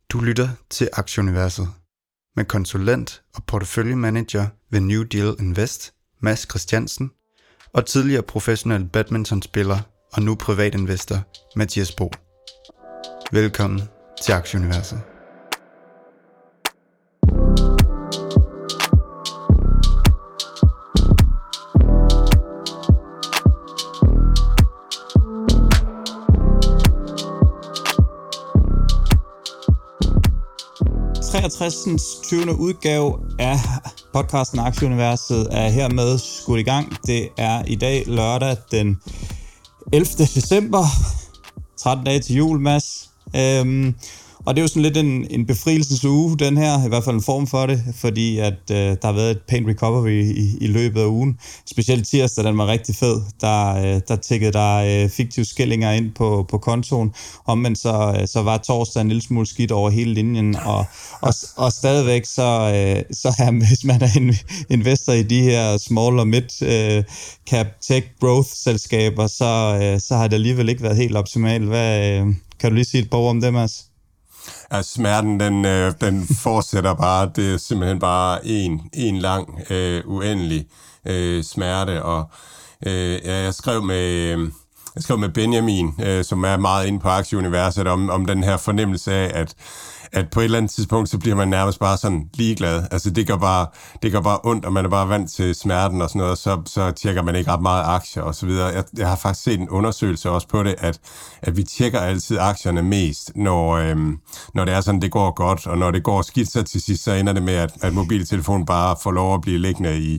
Du lytter til Aktieuniverset med konsulent og porteføljemanager ved New Deal Invest, Mads Christiansen, og tidligere professionel badmintonspiller og nu privatinvestor, Mathias Bo. Velkommen til Aktieuniverset. Den 20. udgave af podcasten Aktieuniverset er hermed skudt i gang. Det er i dag lørdag den 11. december, 13 dage til jul, Mads. Og det er jo sådan lidt en befrielsens uge, den her, i hvert fald en form for det, fordi at der har været et pænt recovery i løbet af ugen. Specielt tirsdag, den var rigtig fed. Der tikkede der fiktive skillinger ind på kontoen. Omvendt så var torsdag en lille smule skidt over hele linjen, og stadigvæk så hvis man er investor i de her small og mid cap tech growth selskaber, så har det alligevel ikke været helt optimalt. Kan du lige sige et par ord om det, Mads? Ja, smerten, den fortsætter bare. Det er simpelthen bare en lang, uendelig smerte. Og jeg skrev med Benjamin, som er meget inde på Aktieuniverset, om den her fornemmelse af, at på et eller andet tidspunkt, så bliver man nærmest bare sådan ligeglad. Altså det gør bare ondt, og man er bare vant til smerten og sådan noget, så tjekker man ikke ret meget aktier og så videre. Jeg har faktisk set en undersøgelse også på det, at vi tjekker altid aktierne mest, når det er sådan, det går godt, og når det går skidt, så til sidst, så ender det med, at mobiltelefonen bare får lov at blive liggende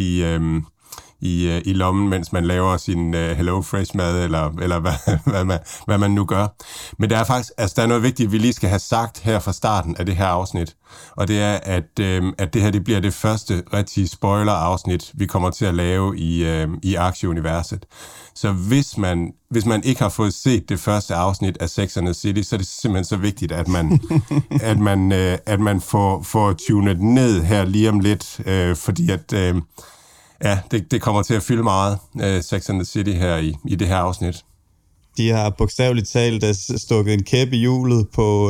i lommen, mens man laver sin Hello Fresh mad, eller hvad man nu gør. Men der er noget vigtigt, vi lige skal have sagt her fra starten af det her afsnit, og det er, at det her det bliver det første rigtige spoiler-afsnit, vi kommer til at lave i Aktieuniverset. Så hvis man ikke har fået set det første afsnit af Sex and the City, så er det simpelthen så vigtigt, at man får tunet ned her lige om lidt, fordi at ja, det kommer til at fylde meget, Sex and the City her i det her afsnit. De har bogstaveligt talt stukket en kæp i hjulet på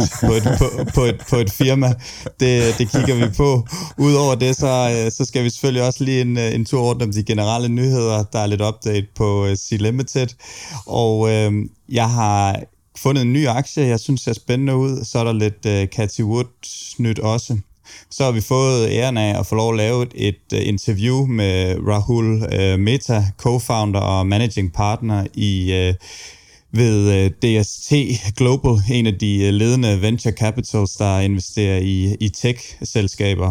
et firma. Det kigger vi på. Udover det, så skal vi selvfølgelig også lige en tur rundt om de generelle nyheder. Der er lidt update på C-Limited. Og jeg har fundet en ny aktie, jeg synes ser spændende ud. Så er der lidt Cathie Wood nyt også. Så har vi fået æren af at få lov at lave et interview med Rahul Mehta, co-founder og managing partner ved DST Global, en af de ledende venture capitals, der investerer i tech-selskaber.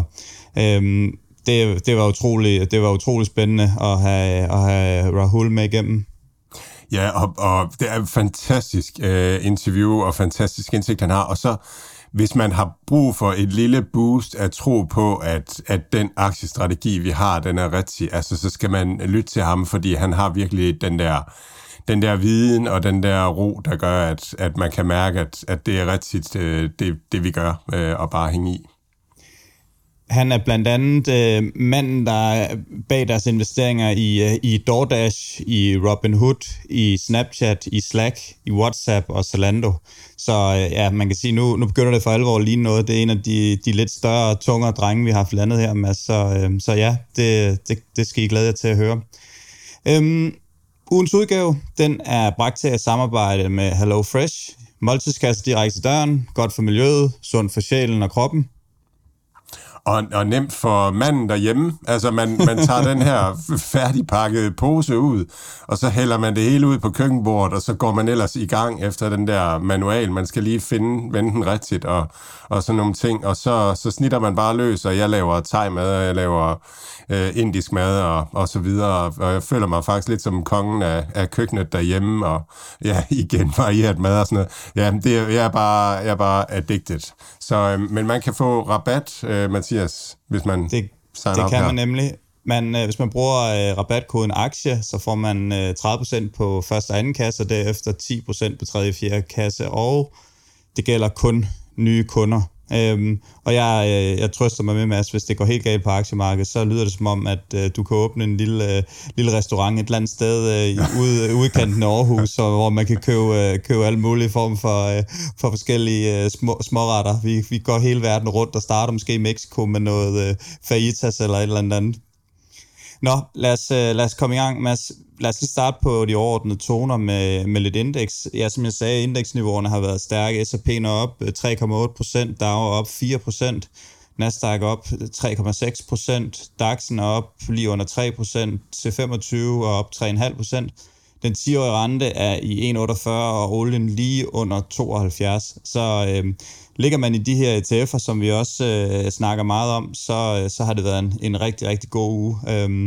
Det var utrolig spændende at have Rahul med igennem. Ja, og det er et fantastisk interview og fantastisk indsigt, han har. Og så hvis man har brug for et lille boost at tro på, at den aktiestrategi, vi har, den er rigtig, altså så skal man lytte til ham, fordi han har virkelig den der viden og den der ro, der gør, at man kan mærke, at det er rigtigt, det vi gør, og bare hænge i. Han er blandt andet manden, der er bag deres investeringer i DoorDash, i Robinhood, i Snapchat, i Slack, i WhatsApp og Zalando. Så ja, man kan sige, nu begynder det for alvor at ligne noget. Det er en af de lidt større, tungere drenge, vi har haft landet her med. Så ja, det skal I glæde jer til at høre. Ugens udgave, den er bragt til at samarbejde med Hello Fresh. Måltidskasse direkte til døren, godt for miljøet, sundt for sjælen og kroppen. Og nemt for manden derhjemme. Altså, man tager den her færdigpakkede pose ud, og så hælder man det hele ud på køkkenbordet, og så går man ellers i gang efter den der manual. Man skal lige vende den rigtigt, og sådan nogle ting. Og så snitter man bare løs, og jeg laver thai-mad, og jeg laver indisk mad, og så videre. Og jeg føler mig faktisk lidt som kongen af køkkenet derhjemme, og ja, igen varieret mad og sådan noget. Ja, jeg er bare addicted. Så, men man kan få rabat, Mathias, hvis man signer op her. Det kan man nemlig. Hvis man bruger rabatkoden aktie, så får man 30% på første og anden kasse, og derefter 10% på tredje og fjerde kasse, og det gælder kun nye kunder. Og jeg trøster mig med, Mads, hvis det går helt galt på aktiemarkedet, så lyder det som om, at du kan åbne en lille restaurant et eller andet sted ude i kanten af Aarhus, hvor man kan købe alle mulige former for forskellige småretter. Vi går hele verden rundt og starter måske i Mexico med noget fajitas eller et eller andet. Nå, lad os komme i gang, Mads. Lad os lige starte på de overordnede toner med lidt indeks. Ja, som jeg sagde, indeksniveauerne har været stærke. S&P'en er op 3,8%, Dow er op 4%, Nasdaq op 3,6%, DAX'en er op lige under 3%, C25 er op 3,5%. Den 10-årige rente er i 1,48, og olien lige under 72. Så ligger man i de her ETF'er, som vi også snakker meget om, så har det været en rigtig, rigtig god uge.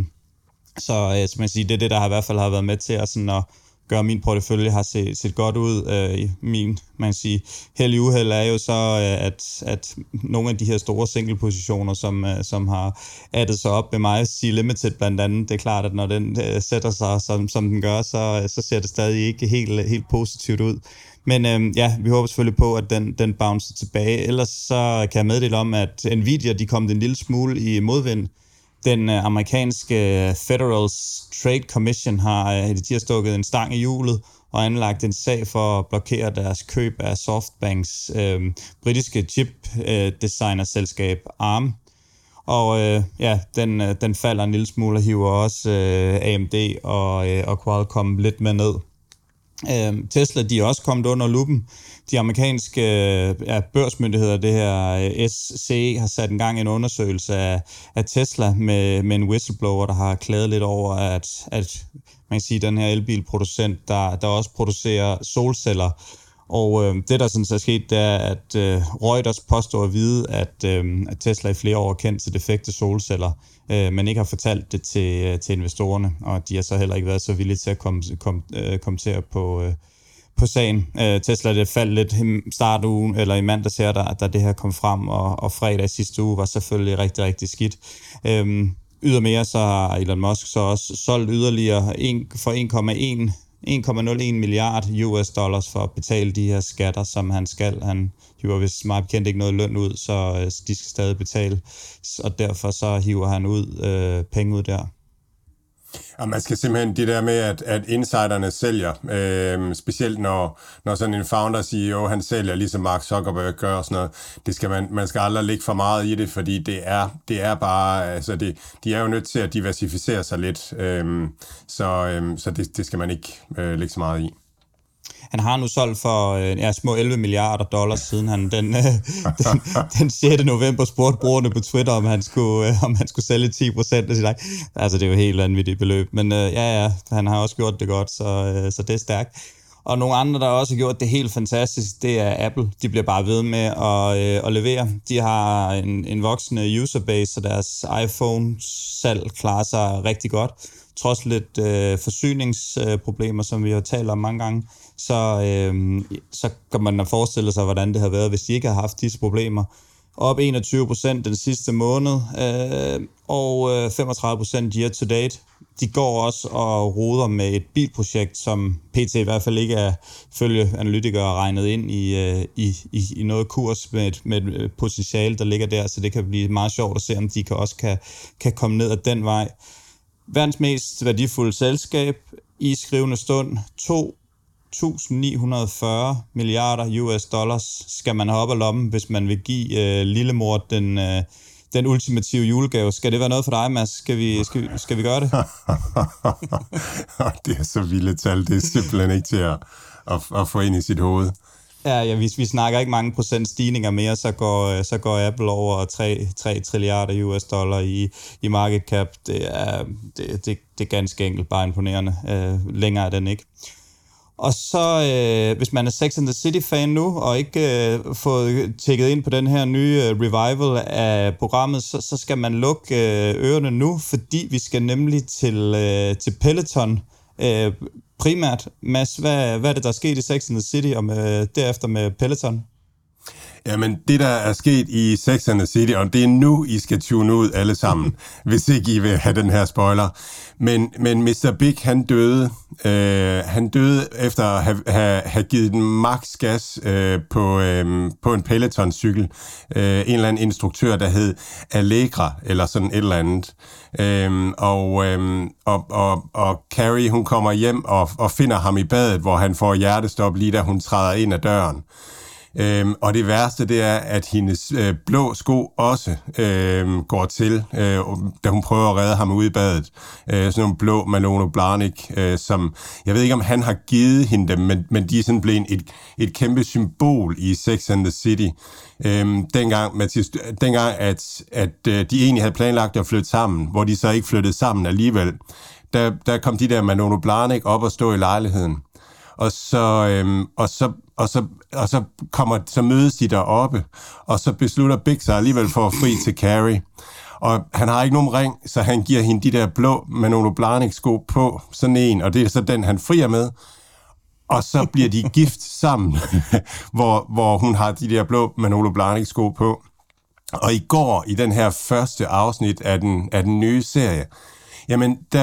Så som jeg siger, det er det, der i hvert fald har været med til at gøre min portefølje har set godt ud. Min, man kan sige, held i uheld er jo så, at nogle af de her store single-positioner, som har addet sig op med mig, C-Limited blandt andet, det er klart, at når den sætter sig, som den gør, så ser det stadig ikke helt positivt ud. Men vi håber selvfølgelig på, at den bouncer tilbage. Ellers så kan jeg meddele om, at Nvidia, de kom en lille smule i modvind. Den amerikanske Federal Trade Commission de har stukket en stang i hjulet og anlagt en sag for at blokere deres køb af Softbanks britiske chip-designerselskab ARM. Og den falder en lille smule og hiver også AMD og Qualcomm lidt med ned. Tesla, de er også kommet under luppen. De amerikanske børsmyndigheder, det her SCE, har sat en gang en undersøgelse af Tesla med en whistleblower, der har klaget lidt over, at man kan sige, den her elbilproducent, der også producerer solceller. Og det, der sådan er sket, det er, at Reuters påstår at vide, at Tesla i flere år har kendt til defekte solceller, men ikke har fortalt det til investorerne, og de har så heller ikke været så villige til at kommentere på sagen. Tesla, det faldt lidt startugen, eller i mandags her, da det her kom frem, og fredag sidste uge var selvfølgelig rigtig, rigtig skidt. Ydermere så har Elon Musk så også solgt yderligere for 1,01 milliard US dollars for at betale de her skatter, som han skal. Han hiver vist meget bekendt ikke noget løn ud, så de skal stadig betale, og derfor så hiver han penge ud der. Og man skal simpelthen det der med, at insiderne sælger, specielt når sådan en founder-CEO, han sælger, ligesom Mark Zuckerberg gør og sådan noget, det skal man skal aldrig lægge for meget i det, fordi det er bare, altså de er jo nødt til at diversificere sig lidt, så det skal man ikke lægge så meget i. Han har nu solgt for små 11 milliarder dollars, siden han den 6. november spurgte brugerne på Twitter, om han skulle sælge 10% af sit aktie. Altså, det er jo helt vanvittigt beløb. Men han har også gjort det godt, så det er stærkt. Og nogle andre, der også har gjort det helt fantastisk, det er Apple. De bliver bare ved med at levere. De har en voksende userbase, så deres iPhone-salg klarer sig rigtig godt. Trods lidt forsyningsproblemer, som vi har talt om mange gange, så kan man forestille sig, hvordan det har været, hvis de ikke har haft disse problemer. Op 21% den sidste måned, og 35% year to date. De går også og roder med et bilprojekt, som PT i hvert fald ikke er, følge analytikere, regnet ind i noget kurs med et potentiale, der ligger der, så det kan blive meget sjovt at se, om de også kan komme ned ad den vej. Verdens mest værdifulde selskab i skrivende stund, 2.940 milliarder US dollars skal man have op af lommen, hvis man vil give lillemor den ultimative julegave. Skal det være noget for dig, Mads? Skal vi gøre det? Det er så vilde tal, det er simpelthen ikke til at få ind i sit hoved. Ja, vi snakker ikke mange procent stigninger mere, så går Apple over 3 trilliarder US dollar i market cap. Det er ganske enkelt bare imponerende. Længere er den ikke. Og så, hvis man er Sex and the City-fan nu, og ikke fået tjekket ind på den her nye revival af programmet, så skal man lukke ørerne nu, fordi vi skal nemlig til Peloton. Primært, Mads, hvad er det, der er sket i Sex and the City, og derefter med Peloton? Jamen, det der er sket i Sex and the City, og det er nu, I skal tune ud alle sammen, hvis ikke I vil have den her spoiler. Men Mr. Big, han døde. Han døde efter at have givet den max gas på en Peloton-cykel. En eller anden instruktør, der hed Allegra, eller sådan et eller andet. Og Carrie, hun kommer hjem og finder ham i badet, hvor han får hjertestop lige da hun træder ind ad døren. Og det værste, det er, at hendes blå sko også går til, da hun prøver at redde ham ude i badet. Sådan nogle blå Manolo Blahnik, som jeg ved ikke, om han har givet hende dem, men de er sådan blevet et kæmpe symbol i Sex and the City. Dengang, at de egentlig havde planlagt at flytte sammen, hvor de så ikke flyttede sammen alligevel, der kom de der Manolo Blahnik op og stå i lejligheden. Og så mødes de deroppe, og så beslutter Big sig alligevel for at fri til Carrie. Og han har ikke nogen ring, så han giver hende de der blå Manolo Blahnik-sko på, sådan en, og det er så den, han frier med. Og så bliver de gift sammen, hvor hun har de der blå Manolo Blahnik-sko på. Og i går, i den her første afsnit af den nye serie, jamen, der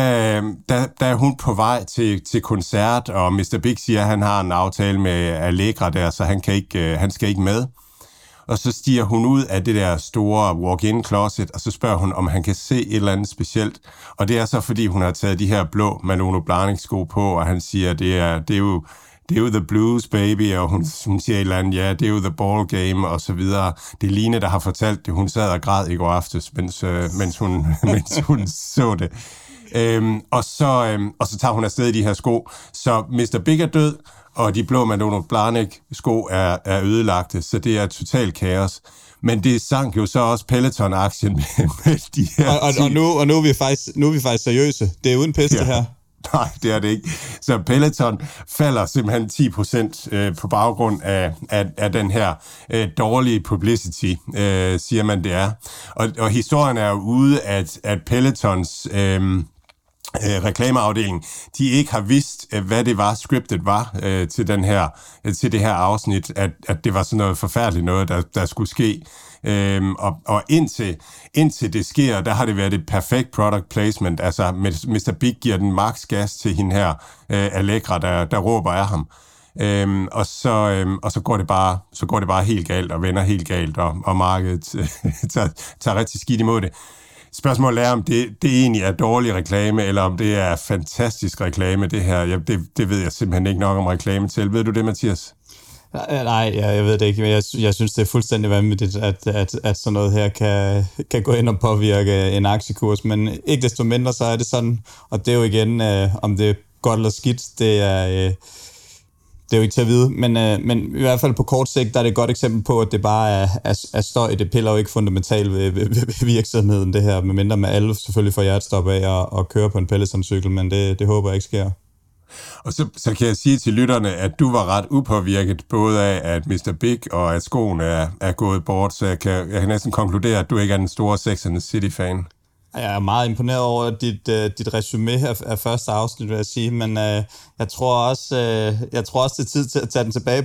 er hun på vej til koncert, og Mr. Big siger, at han har en aftale med Allegra der, så han skal ikke med. Og så stiger hun ud af det der store walk-in closet, og så spørger hun, om han kan se et eller andet specielt. Og det er så, fordi hun har taget de her blå Manolo Blahnik-sko på, og han siger, det er jo the blues, baby, og hun siger et eller andet, ja, det er jo the ball game, og så videre. Det er Line, der har fortalt det. Hun sad og græd i går aftes, mens hun så det. Og så tager hun afsted i de her sko. Så Mr. Big er død, og de blå Manolo Blahnik-sko er ødelagte, så det er totalt kaos. Men det sank jo så også Peloton-aktien med de her... Og nu er vi faktisk seriøse. Det er uden piste her. Nej, det er det ikke. Så Peloton falder simpelthen 10% på baggrund af den her dårlige publicity, siger man det er. Og historien er jo ude, at Pelotons reklameafdeling, de ikke har vidst, hvad det var, scriptet var til det her afsnit, at det var sådan noget forfærdeligt noget, der skulle ske. Og indtil det sker, der har det været et perfekt product placement. Altså, Mr. Big giver den max gas til hende her, Allegra, der råber af ham. Og så går det bare helt galt og vender helt galt, og markedet tager rigtig skidt imod det. Spørgsmålet er, om det egentlig er dårlig reklame, eller om det er fantastisk reklame, det her. Det ved jeg simpelthen ikke nok om reklame til. Ved du det, Mathias? Nej, jeg ved det ikke, men jeg synes, det er fuldstændig vanvittigt, at sådan noget her kan gå ind og påvirke en aktiekurs, men ikke desto mindre, så er det sådan, og det er jo igen, om det er godt eller skidt, det er jo ikke til at vide, men i hvert fald på kort sigt, der er det et godt eksempel på, at det bare er støj. Det piller jo ikke fundamentalt ved virksomheden, det her, medmindre med alle selvfølgelig får hjertestop af at køre på en Peloton-cykel, men det håber jeg ikke sker. Og så kan jeg sige til lytterne, at du var ret upåvirket, både af, at Mr. Big og at skoene er gået bort, så jeg kan næsten konkludere, at du ikke er den store Sex and the City-fan. Jeg er meget imponeret over dit resume af første afsnit, vil jeg sige, men jeg tror også, det er tid til at tage den tilbage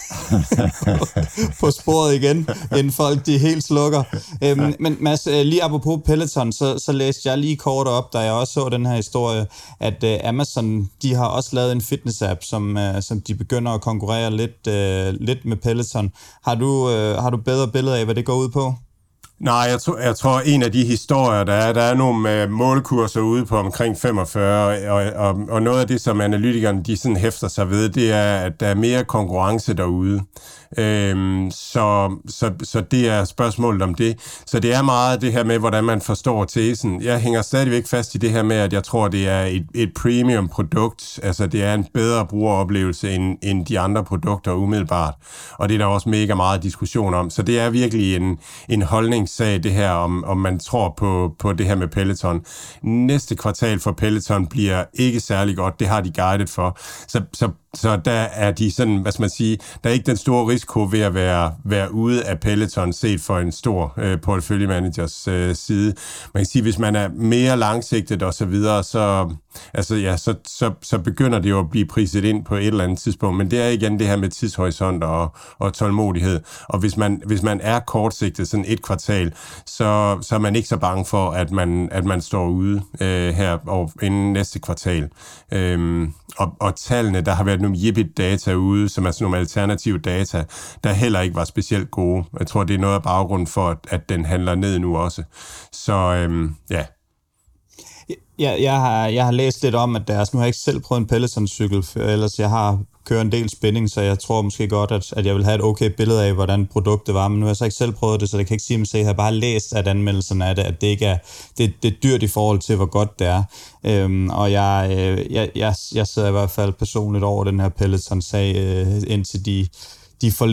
på sporet igen, inden folk de helt slukker. Men Mads, lige apropos Peloton, så læste jeg lige kort op, da jeg også så den her historie, at Amazon, de har også lavet en fitness-app, som de begynder at konkurrere lidt med Peloton. Har du bedre billeder af, hvad det går ud på? Nej, jeg tror en af de historier, der er nogle målkurser ude på omkring 45, og noget af det, som analytikerne de sådan hæfter sig ved, det er, at der er mere konkurrence derude. Så det er spørgsmålet om det. Så det er meget det her med, hvordan man forstår tesen. Jeg hænger stadigvæk fast i det her med, at jeg tror, det er et premium produkt. Altså, det er en bedre brugeroplevelse end de andre produkter umiddelbart. Og det er der også mega meget diskussion om. Så det er virkelig en holdningssag, det her, om man tror på det her med Peloton. Næste kvartal for Peloton bliver ikke særlig godt. Det har de guidet for. Så Så der er de sådan, hvad skal man sige, der er ikke den store risiko ved at være ude af Peloton set for en stor porteføljemanagers side. Man kan sige, hvis man er mere langsigtet og så videre, så begynder det jo at blive priset ind på et eller andet tidspunkt. Men det er igen det her med tidshorisont og tålmodighed. Og hvis man er kortsigtet, sådan et kvartal, så er man ikke så bange for, at man står ude her inden næste kvartal. Og tallene, der har været nogle Yipit-data ude, som er sådan nogle alternative data, der heller ikke var specielt gode. Jeg tror, det er noget af baggrunden for, at den handler ned nu også. Så ja. Jeg har læst lidt om, at nu har jeg ikke selv prøvet en Peloton-cykel, ellers jeg har kørt en del spænding, så jeg tror måske godt, at jeg vil have et okay billede af, hvordan produktet var, men nu har jeg så ikke selv prøvet det, så jeg kan ikke sige, at jeg har bare læst at anmeldelserne af det, at det ikke er, det er dyrt i forhold til, hvor godt det er. Og jeg sidder i hvert fald personligt over den her Peloton-sag, indtil de får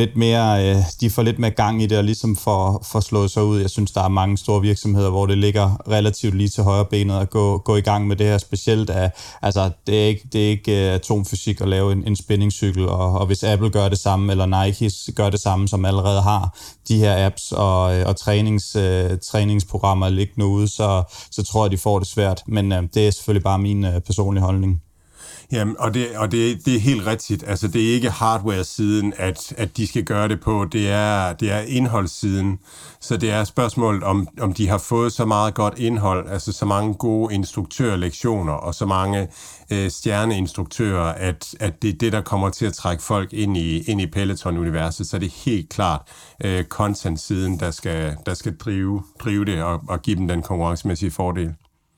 lidt mere gang i det, og ligesom får slået sig ud. Jeg synes, der er mange store virksomheder, hvor det ligger relativt lige til højre benet at gå i gang med det her. Specielt det er ikke atomfysik at lave en spændingscykel, og hvis Apple gør det samme, eller Nike gør det samme, som allerede har de her apps og træningsprogrammer liggende ude, så tror jeg, de får det svært. Men det er selvfølgelig bare min personlige holdning. Jamen, og det er helt rigtigt. Altså, det er ikke hardware-siden, at de skal gøre det på. Det er indholdssiden. Så det er spørgsmålet, om de har fået så meget godt indhold, altså så mange gode instruktørlektioner og så mange stjerneinstruktører, at det er det, der kommer til at trække folk ind i Peloton-universet. Så det er helt klart content-siden, der skal drive det og give dem den konkurrencemæssige fordel.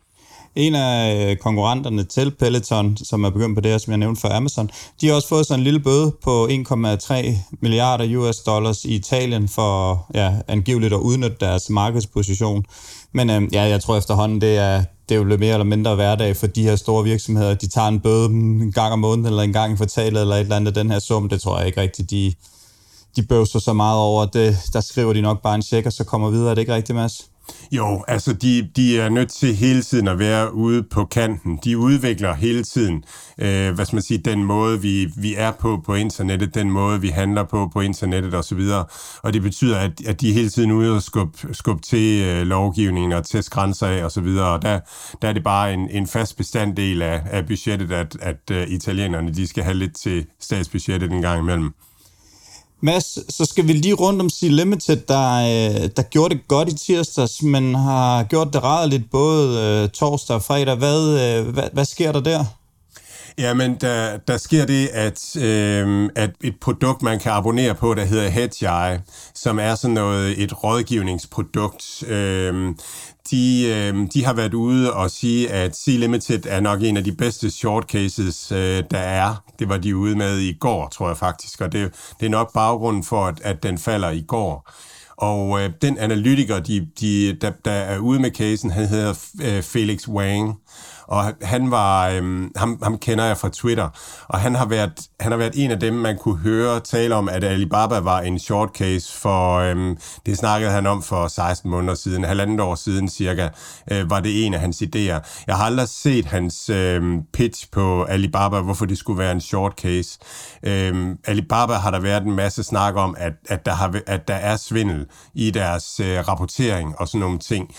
En af konkurrenterne til Peloton, som er begyndt på det her, som jeg nævnte for Amazon, de har også fået sådan en lille bøde på 1,3 milliarder US dollars i Italien for angiveligt at udnytte deres markedsposition. Men jeg tror efterhånden, det er jo lidt mere eller mindre hverdag for de her store virksomheder. De tager en bøde en gang om måneden, eller en gang i kvartalet, eller et eller andet den her sum. Det tror jeg ikke rigtigt, de bøvser så meget over. Der skriver de nok bare en check, og så kommer videre. Er det ikke rigtigt, Mads? Jo, altså de er nødt til hele tiden at være ude på kanten. De udvikler hele tiden, den måde vi er på internettet, den måde vi handler på internettet osv. Og det betyder, at de er hele tiden ude og skubbe til lovgivningen og teste grænser af osv. Og der er det bare en fast bestanddel af budgettet, at italienerne de skal have lidt til statsbudgettet en gang imellem. Mads, så skal vi lige rundt om Sea Limited, der gjorde det godt i tirsdags, men har gjort det rædeligt både torsdag og fredag. Hvad sker der der? Jamen, der sker det, at et produkt, man kan abonnere på, der hedder Hedgeye, som er sådan et rådgivningsprodukt. De har været ude og sige, at Sea Limited er nok en af de bedste short cases, der er. Det var de ude med i går, tror jeg faktisk, og det er nok baggrunden for, at den falder i går. Og den analytiker, der er ude med casen, han hedder Felix Wang, og han var ham kender jeg fra Twitter, og han har været en af dem, man kunne høre tale om, at Alibaba var en short case for det snakkede han om for 16 måneder siden, 1,5 år siden cirka, var det en af hans idéer. Jeg har aldrig set hans pitch på Alibaba, hvorfor det skulle være en short case. Alibaba har der været en masse snak om, at der er svindel i deres rapportering og sådan nogle ting.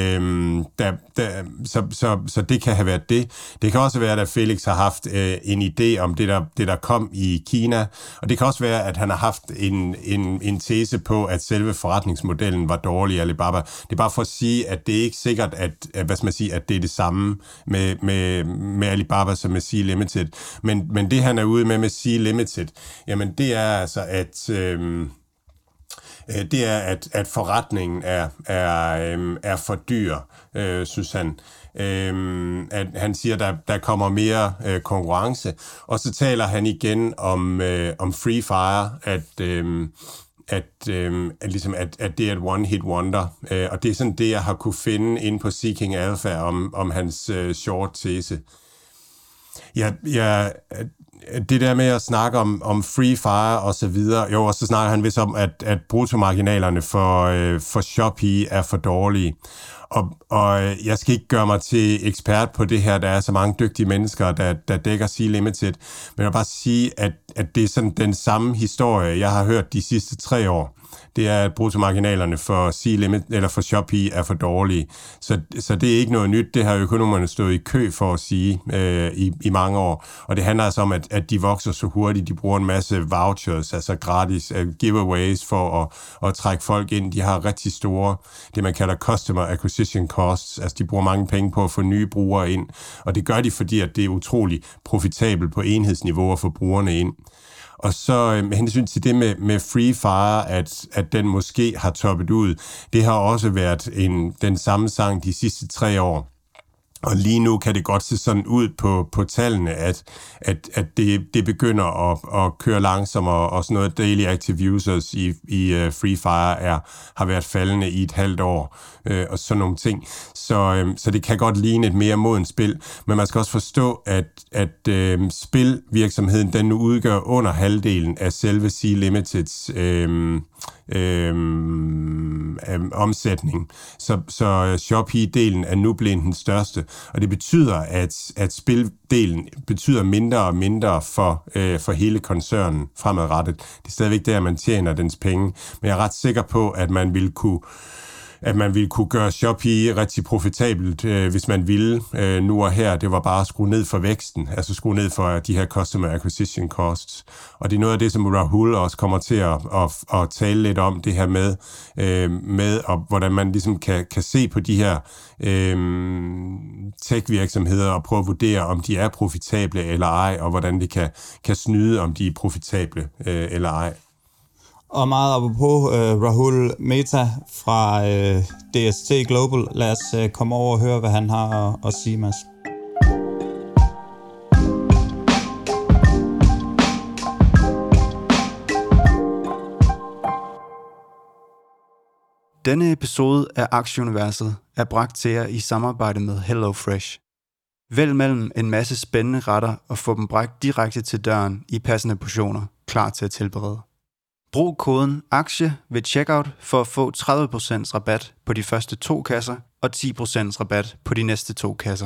Så det kan have været det. Det kan også være, at Felix har haft en idé om det, der kom i Kina, og det kan også være, at han har haft en tese på, at selve forretningsmodellen var dårlig i Alibaba. Det er bare for at sige, at det er ikke sikkert, at det er det samme med Alibaba som med Sea Limited. Men det, han er ude med Sea Limited, jamen det er altså, at forretningen er for dyr, synes han. At han siger, at der kommer mere konkurrence, og så taler han igen om Free Fire, at det er et one-hit wonder, og det er sådan det, jeg har kunne finde inde på Seeking Alpha om hans short tese. det der med at snakke om free fire og så videre, jo, og så snakker han vist om, at bruttomarginalerne for Shopee er for dårlige. Og jeg skal ikke gøre mig til ekspert på det her, der er så mange dygtige mennesker, der dækker C-Limited, men jeg vil bare sige, at det er sådan den samme historie, jeg har hørt de sidste 3 år. Det er, at bruttomarginalerne for C-Limit eller for Shopee er for dårlige. Så det er ikke noget nyt. Det har økonomerne stået i kø for at sige i mange år. Og det handler altså om, at de vokser så hurtigt. De bruger en masse vouchers, altså gratis giveaways for at trække folk ind. De har rigtig store, det man kalder customer acquisition costs. Altså de bruger mange penge på at få nye brugere ind. Og det gør de, fordi at det er utrolig profitabelt på enhedsniveau at få brugerne ind. Og så med hensyn til det med Free Fire, at den måske har toppet ud, det har også været den samme sang de sidste 3 år. Og lige nu kan det godt se sådan ud på tallene, at det begynder at køre langsommere, og sådan noget daily active users i Free Fire har været faldende i et halvt år, og sådan nogle ting. Så det kan godt ligne et mere modent spil, men man skal også forstå, at spilvirksomheden den nu udgør under halvdelen af selve C-Limiteds omsætning. Så Shopee-delen er nu blevet den største, og det betyder, at spildelen betyder mindre og mindre for hele koncernen fremadrettet. Det er stadigvæk der, man tjener dens penge, men jeg er ret sikker på, at man ville kunne gøre Shopee rigtig profitabelt, hvis man ville nu og her. Det var bare at skrue ned for væksten, altså skrue ned for de her customer acquisition costs. Og det er noget af det, som Rahul også kommer til at tale lidt om, det her med og hvordan man ligesom kan se på de her tech-virksomheder og prøve at vurdere, om de er profitable eller ej, og hvordan det kan snyde, om de er profitable eller ej. Og meget apropos Rahul Mehta fra DST Global. Lad os komme over og høre, hvad han har at sige, Mads. Denne episode af Aktieuniverset er bragt til jer i samarbejde med HelloFresh. Vælg mellem en masse spændende retter og få dem bragt direkte til døren i passende portioner, klar til at tilberede. Brug koden AKTIE ved checkout for at få 30% rabat på de første 2 kasser og 10% rabat på de næste 2 kasser.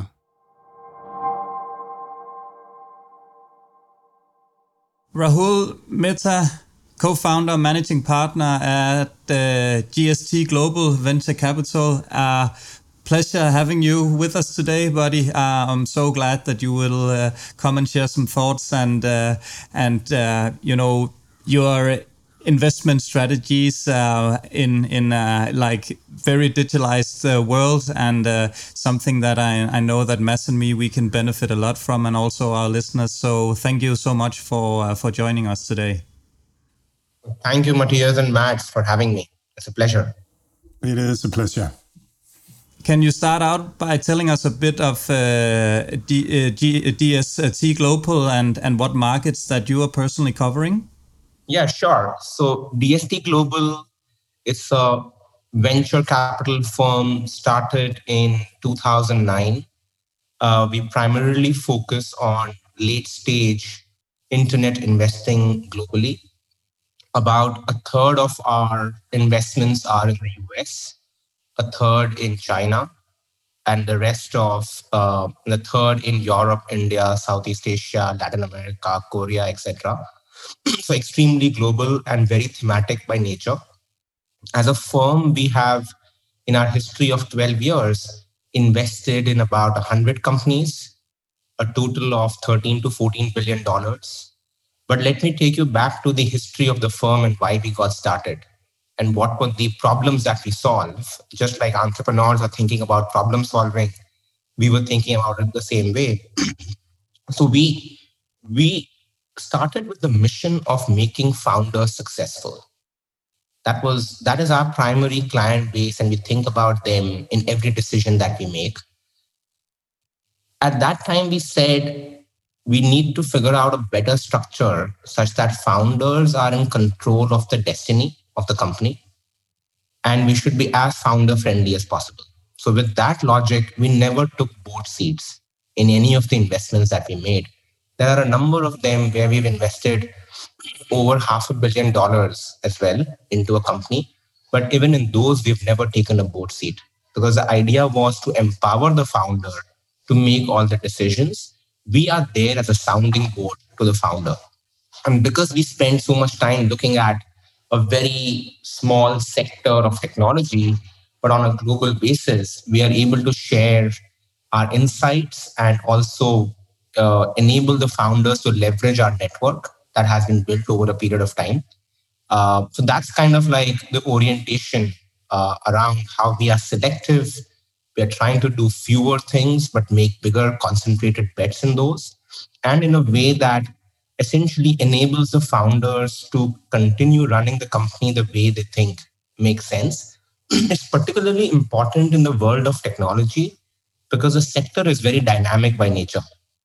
Rahul Mehta, co-founder and managing partner at GST Global Venture Capital. Pleasure having you with us today, buddy. I'm so glad that you will come and share some thoughts and your investment strategies in like very digitalized world, and something that I know that Mads and me we can benefit a lot from, and also our listeners. So thank you so much for joining us today. Thank you, Matthias and Mads, for having me. It's a pleasure. It is a pleasure. Can you start out by telling us a bit of DST Global and what markets that you are personally covering? Yeah, sure. So DST Global is a venture capital firm started in 2009. We primarily focus on late-stage internet investing globally. About a third of our investments are in the US, a third in China, and the rest of the third in Europe, India, Southeast Asia, Latin America, Korea, etc. So extremely global and very thematic by nature. As a firm, we have, in our history of 12 years, invested in about 100 companies, a total of $13 to $14 billion. But let me take you back to the history of the firm and why we got started and what were the problems that we solve. Just like entrepreneurs are thinking about problem solving, we were thinking about it the same way. So we started with the mission of making founders successful. That is our primary client base, and we think about them in every decision that we make. At that time, we said we need to figure out a better structure such that founders are in control of the destiny of the company, and we should be as founder-friendly as possible. So with that logic, we never took board seats in any of the investments that we made. There are a number of them where we've invested over $500 million as well into a company. But even in those, we've never taken a board seat because the idea was to empower the founder to make all the decisions. We are there as a sounding board to the founder. And because we spend so much time looking at a very small sector of technology, but on a global basis, we are able to share our insights and also enable the founders to leverage our network that has been built over a period of time. So that's kind of like the orientation around how we are selective. We are trying to do fewer things, but make bigger, concentrated bets in those. And in a way that essentially enables the founders to continue running the company the way they think makes sense. It's particularly important in the world of technology because the sector is very dynamic by nature.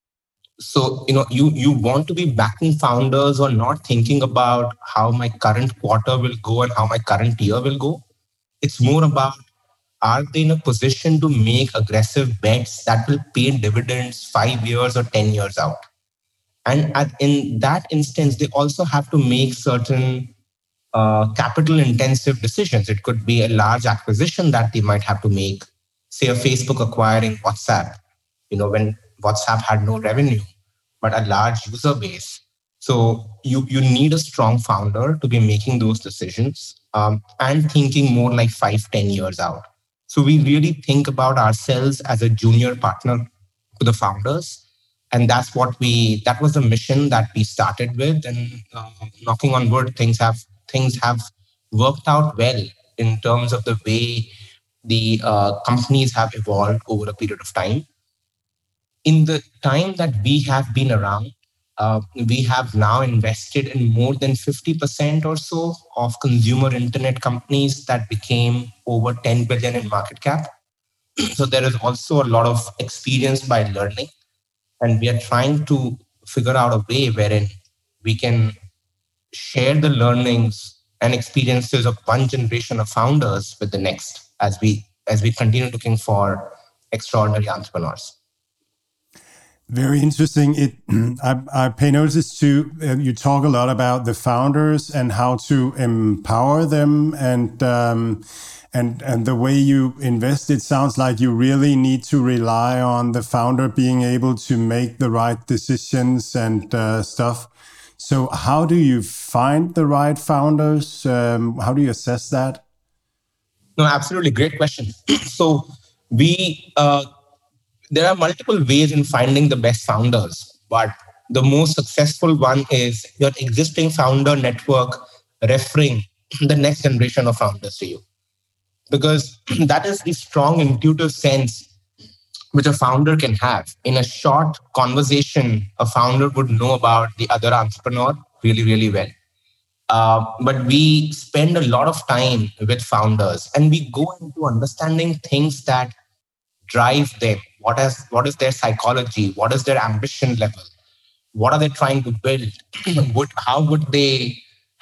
So, you want to be backing founders or not thinking about how my current quarter will go and how my current year will go. It's more about, are they in a position to make aggressive bets that will pay dividends 5 years or 10 years out? And in that instance, they also have to make certain capital intensive decisions. It could be a large acquisition that they might have to make, say a Facebook acquiring WhatsApp, when WhatsApp had no revenue, but a large user base. So you need a strong founder to be making those decisions and thinking more like 5-10 years out. So we really think about ourselves as a junior partner to the founders. And that was the mission that we started with. And knocking on wood, things have worked out well in terms of the way the companies have evolved over a period of time. In the time that we have been around, we have now invested in more than 50% or so of consumer internet companies that became over 10 billion in market cap. So there is also a lot of experience by learning. And we are trying to figure out a way wherein we can share the learnings and experiences of one generation of founders with the next as we continue looking for extraordinary entrepreneurs. Very interesting. I pay notice to you talk a lot about the founders and how to empower them, and the way you invest. It sounds like you really need to rely on the founder being able to make the right decisions and stuff. So how do you find the right founders? How do you assess that? No, absolutely. Great question. So there are multiple ways in finding the best founders, but the most successful one is your existing founder network referring the next generation of founders to you. Because that is the strong intuitive sense which a founder can have. In a short conversation, a founder would know about the other entrepreneur really, really well. But we spend a lot of time with founders and we go into understanding things that drive them. What is their psychology? What is their ambition level? What are they trying to build? How would they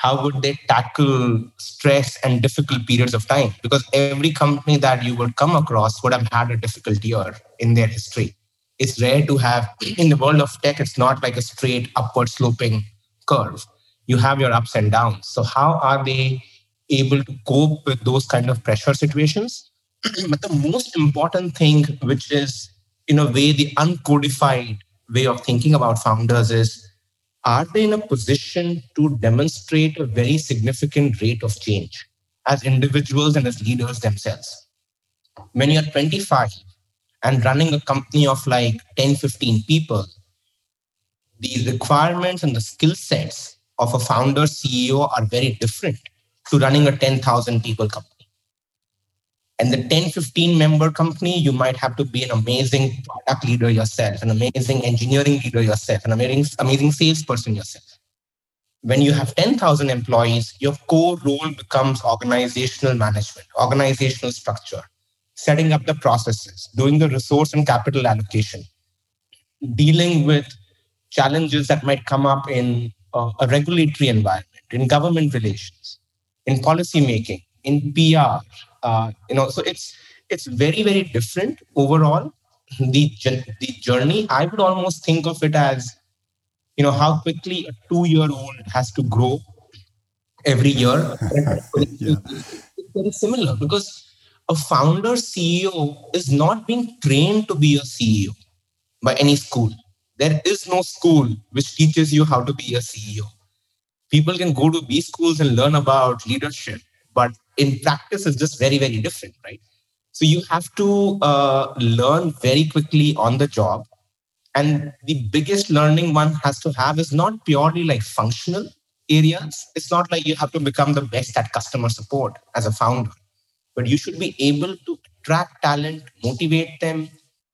tackle stress and difficult periods of time? Because every company that you would come across would have had a difficult year in their history. It's rare to have, in the world of tech, it's not like a straight upward sloping curve. You have your ups and downs. So how are they able to cope with those kind of pressure situations? But the most important thing, which is in a way the uncodified way of thinking about founders, is, are they in a position to demonstrate a very significant rate of change as individuals and as leaders themselves? When you're 25 and running a company of like 10, 15 people, the requirements and the skill sets of a founder CEO are very different to running a 10,000 people company. And the 10, 15 member company, you might have to be an amazing product leader yourself, an amazing engineering leader yourself, an amazing salesperson yourself. When you have 10,000 employees, your core role becomes organizational management, organizational structure, setting up the processes, doing the resource and capital allocation, dealing with challenges that might come up in a regulatory environment, in government relations, in policy making, in PR. So it's very, very different overall. The journey, I would almost think of it as how quickly a 2-year-old has to grow every year. Yeah. It's very similar because a founder CEO is not being trained to be a CEO by any school. There is no school which teaches you how to be a CEO. People can go to B schools and learn about leadership, but in practice, it's just very, very different, right? So you have to learn very quickly on the job. And the biggest learning one has to have is not purely like functional areas. It's not like you have to become the best at customer support as a founder, but you should be able to attract talent, motivate them,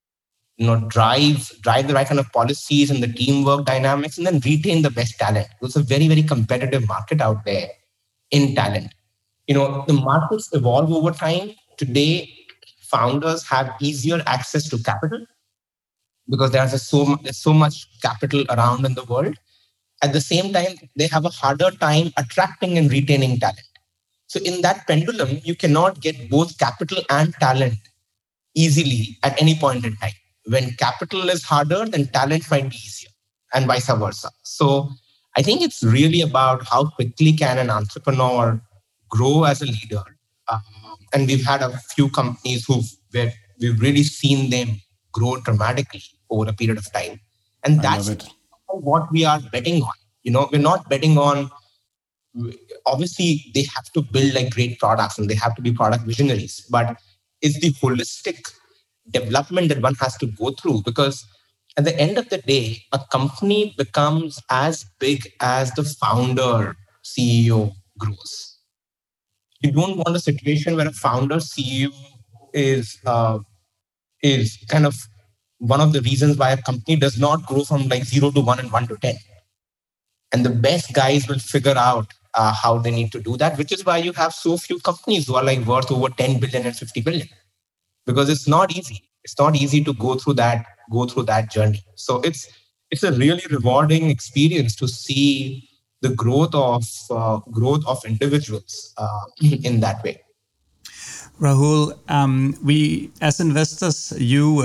drive the right kind of policies and the teamwork dynamics, and then retain the best talent. It's a very, very competitive market out there in talent. The markets evolve over time. Today, founders have easier access to capital because there's so much capital around in the world. At the same time, they have a harder time attracting and retaining talent. So in that pendulum, you cannot get both capital and talent easily at any point in time. When capital is harder, then talent might be easier, and vice versa. So I think it's really about how quickly can an entrepreneur grow as a leader. And we've had a few companies where we've really seen them grow dramatically over a period of time. And that's what we are betting on. We're not betting on, obviously they have to build like great products and they have to be product visionaries, but it's the holistic development that one has to go through, because at the end of the day, a company becomes as big as the founder CEO grows. You don't want a situation where a founder CEO is kind of one of the reasons why a company does not grow from like 0 to 1 and 1 to 10. And the best guys will figure out how they need to do that, which is why you have so few companies who are like worth over 10 billion and 50 billion, because it's not easy. It's not easy to go through that journey. So it's a really rewarding experience to see the growth of individuals in that way. Rahul, we as investors, you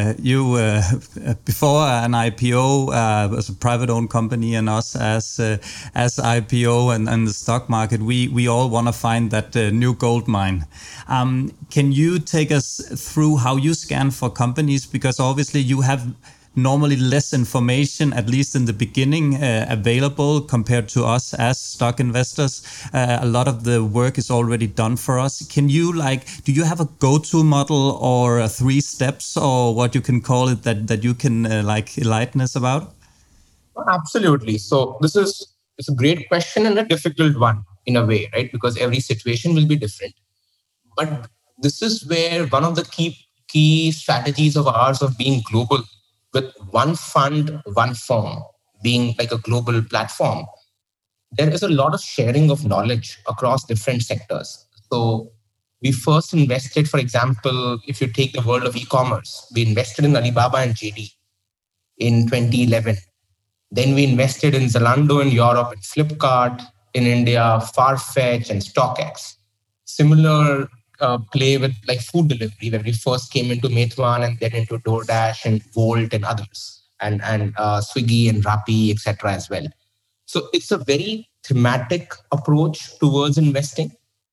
before an IPO as a private-owned company, and us as IPO and the stock market, we all want to find that new gold mine. Can you take us through how you scan for companies? Because obviously you have normally less information, at least in the beginning, available compared to us as stock investors. A lot of the work is already done for us. Can you do you have a go-to model or 3 steps or what you can call it that you can enlighten us about? Absolutely. So it's a great question and a difficult one in a way, right? Because every situation will be different. But this is where one of the key strategies of ours of being global, with one fund, one firm, being like a global platform, there is a lot of sharing of knowledge across different sectors. So we first invested, for example, if you take the world of e-commerce, we invested in Alibaba and JD in 2011. Then we invested in Zalando in Europe and Flipkart in India, Farfetch and StockX. Similar play with like food delivery, where we first came into Meituan and then into DoorDash and Volt and others, and Swiggy and Rappi, etc. as well. So it's a very thematic approach towards investing.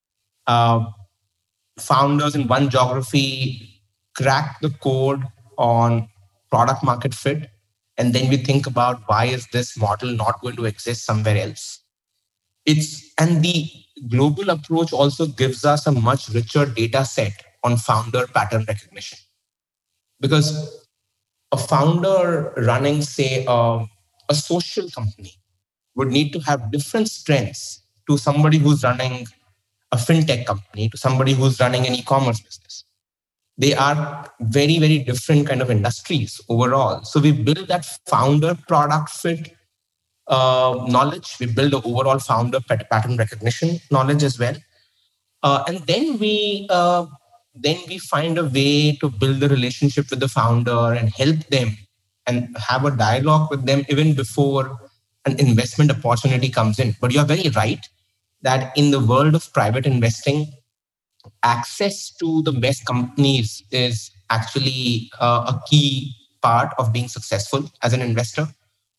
Founders in one geography crack the code on product market fit, and then we think about why is this model not going to exist somewhere else. And the global approach also gives us a much richer data set on founder pattern recognition. Because a founder running, say, a social company would need to have different strengths to somebody who's running a fintech company, to somebody who's running an e-commerce business. They are very, very different kind of industries overall. So we build that founder product fit knowledge. We build the overall founder pattern recognition knowledge as well. And then we find a way to build the relationship with the founder and help them and have a dialogue with them even before an investment opportunity comes in. But you're very right that in the world of private investing, access to the best companies is actually a key part of being successful as an investor.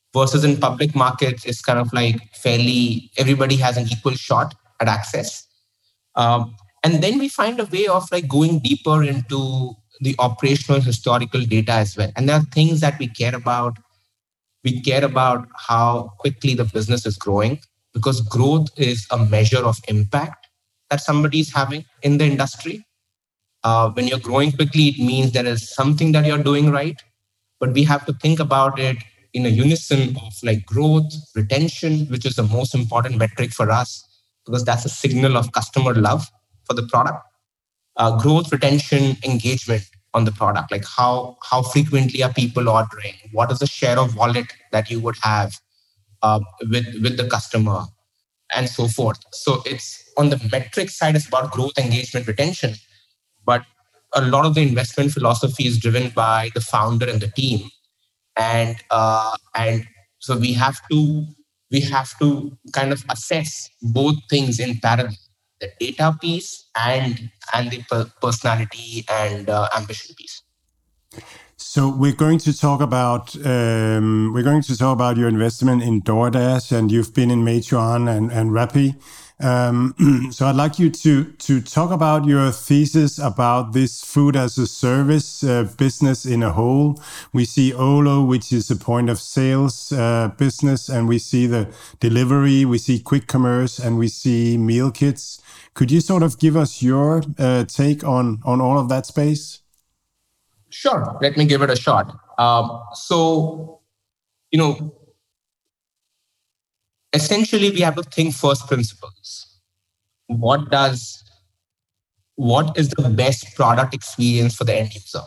versus in public markets, it's kind of like fairly, everybody has an equal shot at access. And then we find a way of like going deeper into the operational historical data as well. And there are things that we care about. We care about how quickly the business is growing, because growth is a measure of impact that somebody is having in the industry. When you're growing quickly, it means there is something that you're doing right. But we have to think about it in a unison of like growth, retention, which is the most important metric for us, because that's a signal of customer love for the product. Growth, retention, engagement on the product, like how frequently are people ordering, what is the share of wallet that you would have with the customer, and so forth. So it's on the metric side, it's about growth, engagement, retention, but a lot of the investment philosophy is driven by the founder and the team, and so we have to kind of assess both things in parallel, the data piece and the personality and ambition piece. So we're going to talk about your investment in DoorDash, and you've been in Meituan and Rappi. So I'd like you to talk about your thesis about this food as a service business in a whole. We see Olo, which is a point of sales business, and we see the delivery, we see quick commerce, and we see meal kits. Could you sort of give us your take on all of that space? Sure, let me give it a shot. Essentially, we have to think first principles. What is the best product experience for the end user?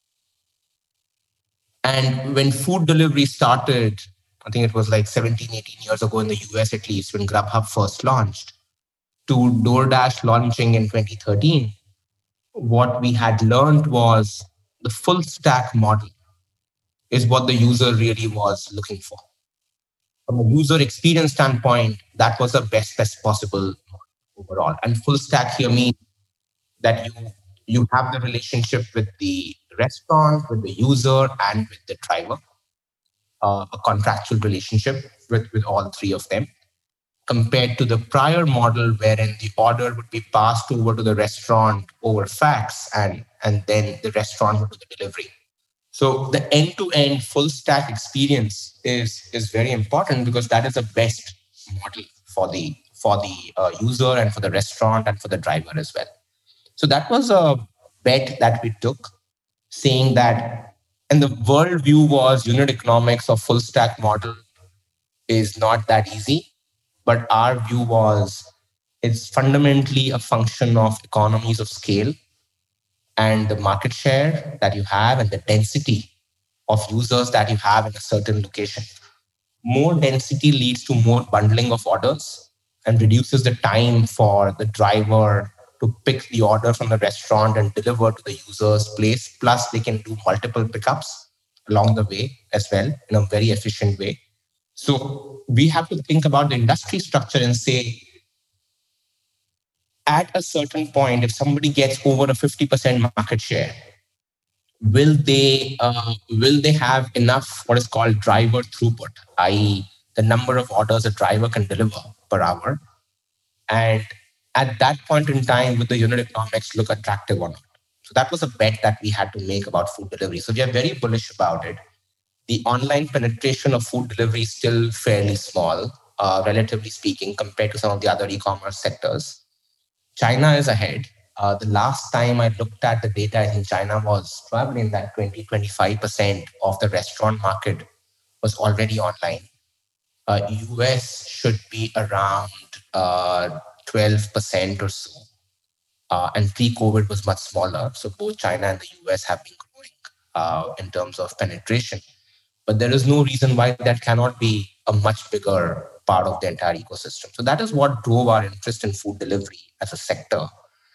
And when food delivery started, I think it was like 17, 18 years ago in the US at least, when Grubhub first launched, to DoorDash launching in 2013, what we had learned was the full stack model is what the user really was looking for. From a user experience standpoint, that was the best possible overall. And full stack here means that you have the relationship with the restaurant, with the user, and with the driver, a contractual relationship with all three of them, compared to the prior model wherein the order would be passed over to the restaurant over fax, and then the restaurant would do the delivery. So the end-to-end full stack experience is very important, because that is the best model for the user and for the restaurant and for the driver as well. So that was a bet that we took, saying that, and the world view was unit economics of full stack model is not that easy. But our view was it's fundamentally a function of economies of scale and the market share that you have and the density of users that you have in a certain location. More density leads to more bundling of orders and reduces the time for the driver to pick the order from the restaurant and deliver to the user's place. Plus, they can do multiple pickups along the way as well in a very efficient way. So we have to think about the industry structure and say, at a certain point, if somebody gets over a 50% market share, will they have enough what is called driver throughput, i.e. the number of orders a driver can deliver per hour? And at that point in time, will the unit economics look attractive or not? So that was a bet that we had to make about food delivery. So we are very bullish about it. The online penetration of food delivery is still fairly small, relatively speaking, compared to some of the other e-commerce sectors. China is ahead. The last time I looked at the data in China was probably in that 20-25% of the restaurant market was already online. US should be around 12% or so. And pre-COVID was much smaller. So both China and the US have been growing in terms of penetration. But there is no reason why that cannot be a much bigger part of the entire ecosystem. So that is what drove our interest in food delivery as a sector.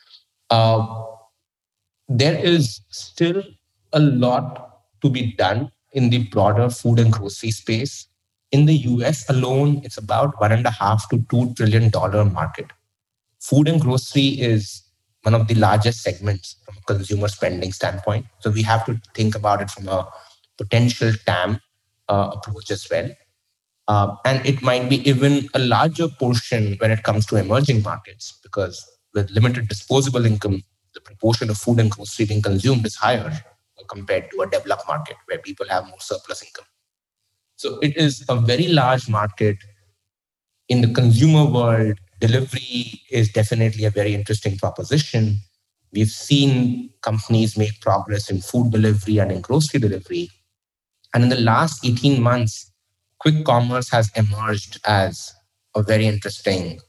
There is still a lot to be done in the broader food and grocery space. In the US alone, it's about $1.5 to $2 trillion market. Food and grocery is one of the largest segments from a consumer spending standpoint. So we have to think about it from a potential TAM approach as well. And it might be even a larger portion when it comes to emerging markets, because with limited disposable income, the proportion of food and grocery being consumed is higher compared to a developed market where people have more surplus income. So it is a very large market. In the consumer world, delivery is definitely a very interesting proposition. We've seen companies make progress in food delivery and in grocery delivery. And in the last 18 months, quick commerce has emerged as a very interesting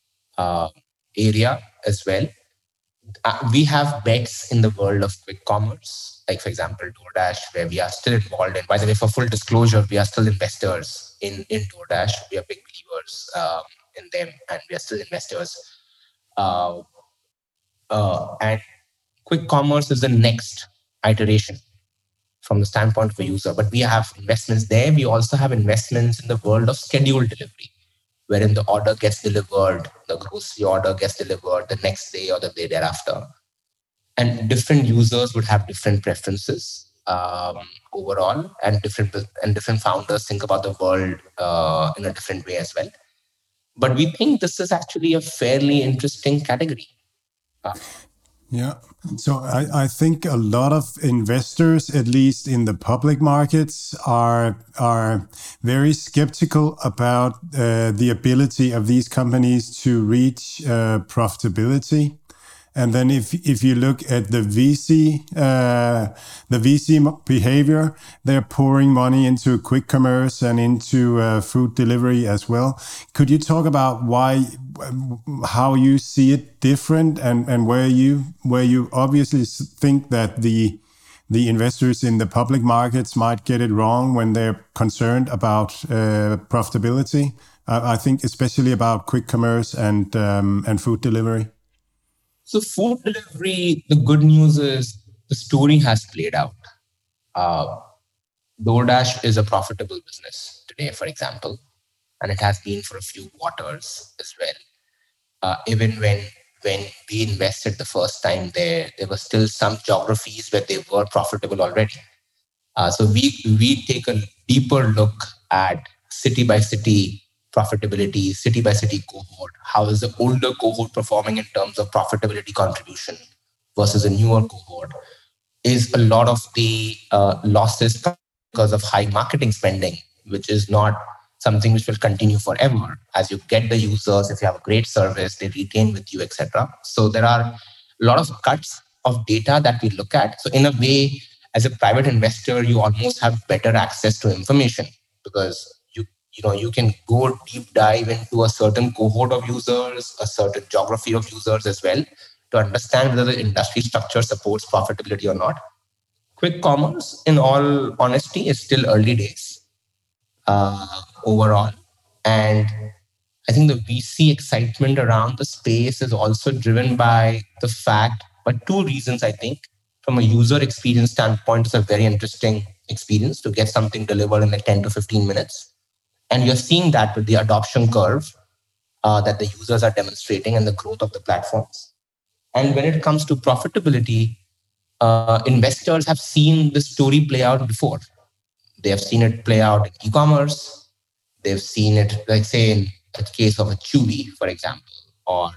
area as well. We have bets in the world of quick commerce, like, for example, DoorDash, where we are still involved in. By the way, for full disclosure, we are still investors in DoorDash. We are big believers in them, and we are still investors. And quick commerce is the next iteration from the standpoint of a user. But we have investments there. We also have investments in the world of scheduled delivery, wherein the order gets delivered, the grocery order gets delivered the next day or the day thereafter. And different users would have different preferences overall, and different founders think about the world in a different way as well. But we think this is actually a fairly interesting category. Yeah. So I think a lot of investors, at least in the public markets, are very skeptical about the ability of these companies to reach profitability. And then if you look at the VC behavior, they're pouring money into quick commerce and into food delivery as well. Could you talk about how you see it different, and where you obviously think that the investors in the public markets might get it wrong when they're concerned about profitability? I think especially about quick commerce and food delivery. So food delivery, the good news is the story has played out. DoorDash is a profitable business today, for example, and it has been for a few quarters as well. Even when we invested the first time there were still some geographies where they were profitable already. So we take a deeper look at city by city profitability, city by city cohort. How is the older cohort performing in terms of profitability contribution versus a newer cohort? Is a lot of the losses because of high marketing spending, which is not something which will continue forever. As you get the users, if you have a great service, they retain with you, etc. So there are a lot of cuts of data that we look at. So in a way, as a private investor, you almost have better access to information, because you can go deep dive into a certain cohort of users, a certain geography of users as well, to understand whether the industry structure supports profitability or not. Quick commerce, in all honesty, is still early days overall. And I think the VC excitement around the space is also driven by the fact, but two reasons, I think. From a user experience standpoint, it's a very interesting experience to get something delivered in like 10 to 15 minutes. And you're seeing that with the adoption curve that the users are demonstrating and the growth of the platforms. And when it comes to profitability, investors have seen the story play out before. They have seen it play out in e-commerce. They've seen it, like say, in the case of a Chewy, for example, or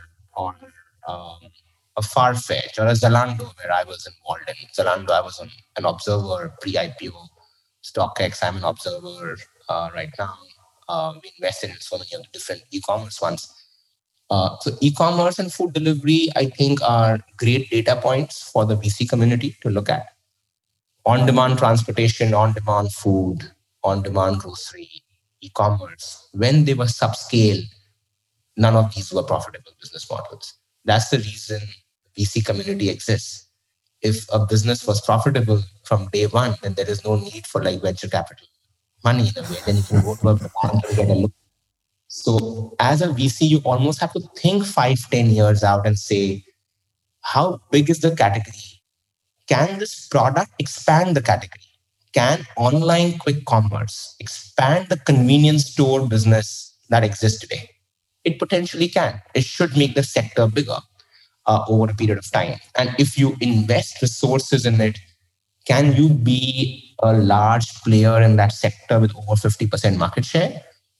a Farfetch or a Zalando, where I was involved in. Zalando, I was an observer pre-IPO. StockX, I'm an observer right now. We invested in so many of the different e-commerce ones. So e-commerce and food delivery, I think, are great data points for the VC community to look at. On-demand transportation, on-demand food, on-demand grocery, e-commerce, when they were subscale, none of these were profitable business models. That's the reason VC community exists. If a business was profitable from day one, then there is no need for like venture capital money in a way. Then you can go to a bank and get a loan. So as a VC, you almost have to think 5-10 years out and say, how big is the category? Can this product expand the category? Can online quick commerce expand the convenience store business that exists today? It potentially can. It should make the sector bigger over a period of time. And if you invest resources in it, can you be a large player in that sector with over 50% market share?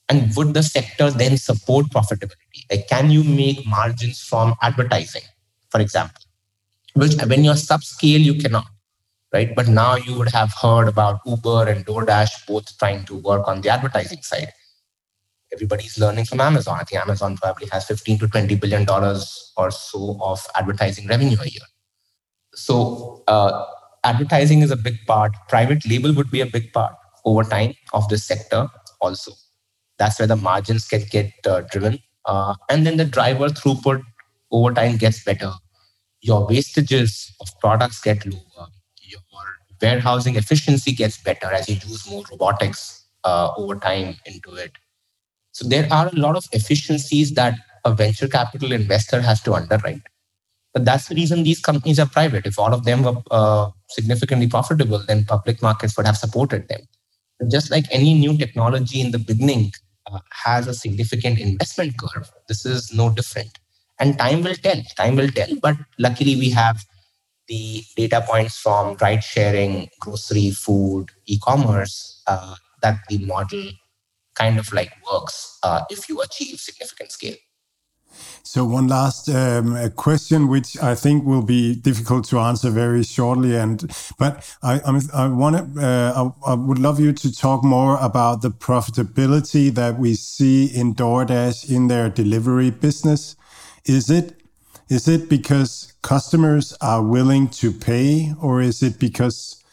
And would the sector then support profitability? Like, can you make margins from advertising, for example? Which when you're subscale, you cannot, right? But now you would have heard about Uber and DoorDash both trying to work on the advertising side. Everybody's learning from Amazon. I think Amazon probably has $15 to $20 billion or so of advertising revenue a year. So advertising is a big part. Private label would be a big part over time of this sector also. That's where the margins can get driven. And then the driver throughput over time gets better. Your wastages of products get lower. Your warehousing efficiency gets better as you use more robotics over time into it. So there are a lot of efficiencies that a venture capital investor has to underwrite. But that's the reason these companies are private. If all of them were significantly profitable, then public markets would have supported them. But just like any new technology in the beginning has a significant investment curve, this is no different. And time will tell. But luckily, we have the data points from ride sharing, grocery, food, e-commerce, that the model kind of like works if you achieve significant scale. So one last question, which I think will be difficult to answer very shortly, but I would love you to talk more about the profitability that we see in DoorDash in their delivery business. Is it because customers are willing to pay, or is it because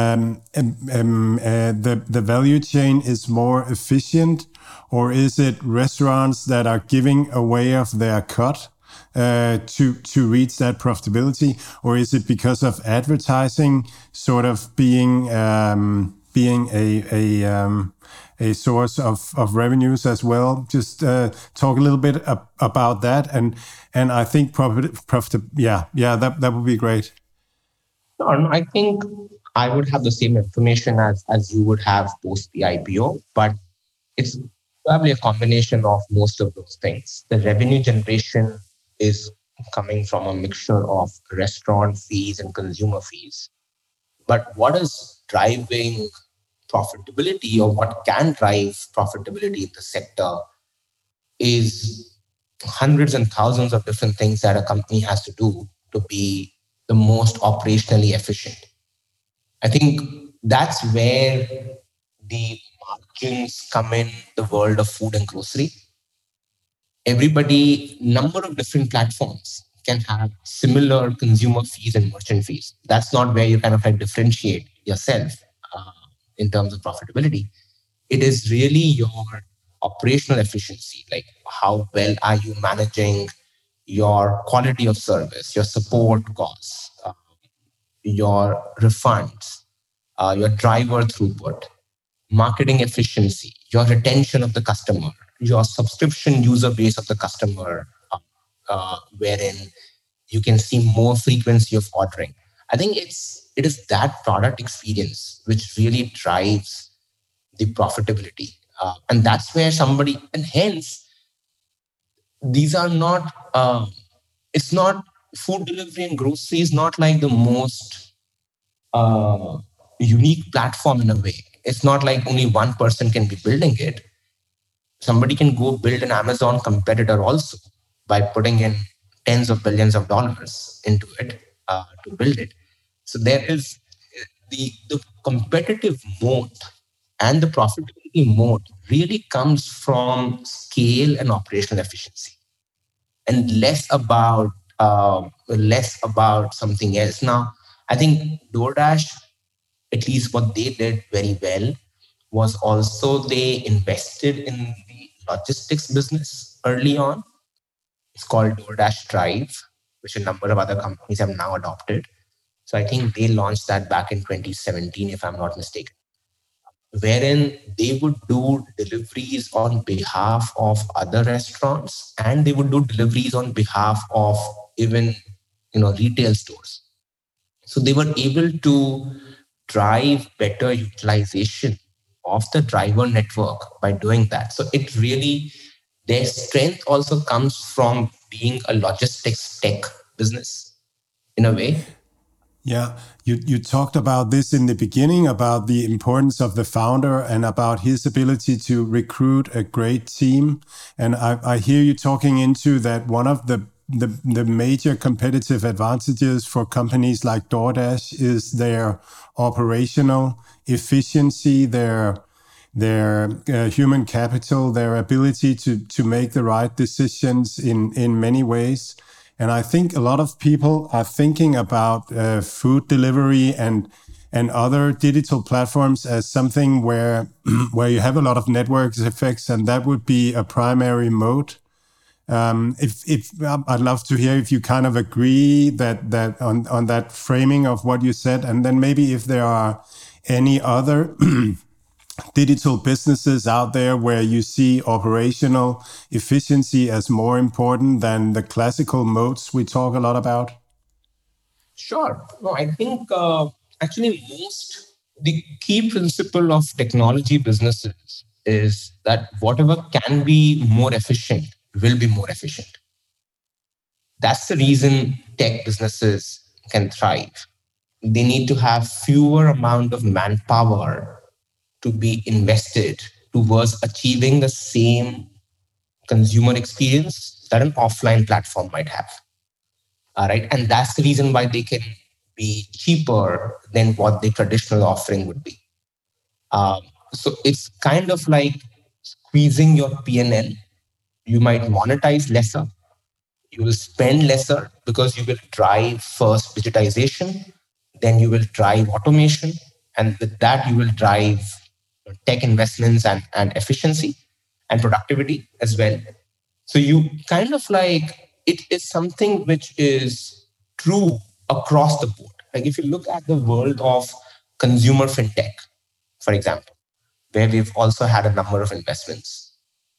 the value chain is more efficient? Or is it restaurants that are giving away of their cut to reach that profitability? Or is it because of advertising sort of being a source of revenues as well? Just talk a little bit about that, and I think that would be great. I think I would have the same information as you would have post the IPO, but it's probably a combination of most of those things. The revenue generation is coming from a mixture of restaurant fees and consumer fees. But what is driving profitability, or what can drive profitability in the sector, is hundreds and thousands of different things that a company has to do to be the most operationally efficient. I think that's where the margins come in the world of food and grocery. Number of different platforms can have similar consumer fees and merchant fees. That's not where you kind of like differentiate yourself in terms of profitability. It is really your operational efficiency, like how well are you managing your quality of service, your support costs, your refunds, your driver throughput, marketing efficiency, your retention of the customer, your subscription user base of the customer, wherein you can see more frequency of ordering. I think it is that product experience which really drives the profitability. And that's where and hence, these are not, it's not, food delivery and grocery is not like the most unique platform in a way. It's not like only one person can be building it. Somebody can go build an Amazon competitor also by putting in tens of billions of dollars into it to build it. So there is the competitive moat and the profitability moat really comes from scale and operational efficiency, and less about something else. Now, I think DoorDash, at least what they did very well, was also they invested in the logistics business early on. It's called DoorDash Drive, which a number of other companies have now adopted. So I think they launched that back in 2017, if I'm not mistaken, wherein they would do deliveries on behalf of other restaurants, and they would do deliveries on behalf of even retail stores. So they were able to drive better utilization of the driver network by doing that. So it really, their strength also comes from being a logistics tech business in a way. Yeah, you talked about this in the beginning, about the importance of the founder and about his ability to recruit a great team. And I hear you talking into that one of the major competitive advantages for companies like DoorDash is their operational efficiency, their human capital, their ability to make the right decisions in many ways. And I think a lot of people are thinking about food delivery and other digital platforms as something where you have a lot of network effects, and that would be a primary mode. If I'd love to hear if you kind of agree that on that framing of what you said, and then maybe if there are any other digital businesses out there where you see operational efficiency as more important than the classical modes we talk a lot about? Sure. No, I think actually the key principle of technology businesses is that whatever can be more efficient will be more efficient. That's the reason tech businesses can thrive. They need to have fewer amount of manpower to be invested towards achieving the same consumer experience that an offline platform might have. All right. And that's the reason why they can be cheaper than what the traditional offering would be. So it's kind of like squeezing your P&L. You might monetize lesser. You will spend lesser because you will drive first digitization, then you will drive automation, and with that you will drive tech investments and efficiency and productivity as well. So you kind of like, it is something which is true across the board. Like if you look at the world of consumer fintech, for example, where we've also had a number of investments,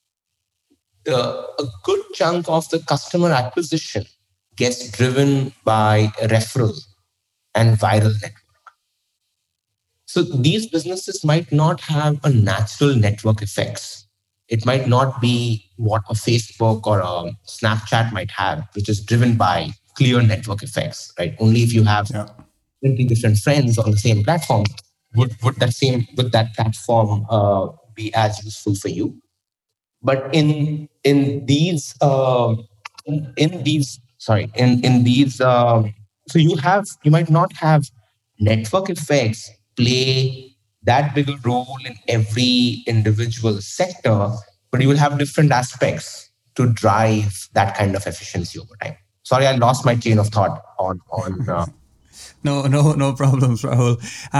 a good chunk of the customer acquisition gets driven by referral and viral network. So these businesses might not have a natural network effects. It might not be what a Facebook or a Snapchat might have, which is driven by clear network effects, right? Only if you have 20 different friends on the same platform would that platform be as useful for you. But in these so you might not have network effects play that big a role in every individual sector, but you will have different aspects to drive that kind of efficiency over time. Sorry, I lost my chain of thought on. No problems, Rahul.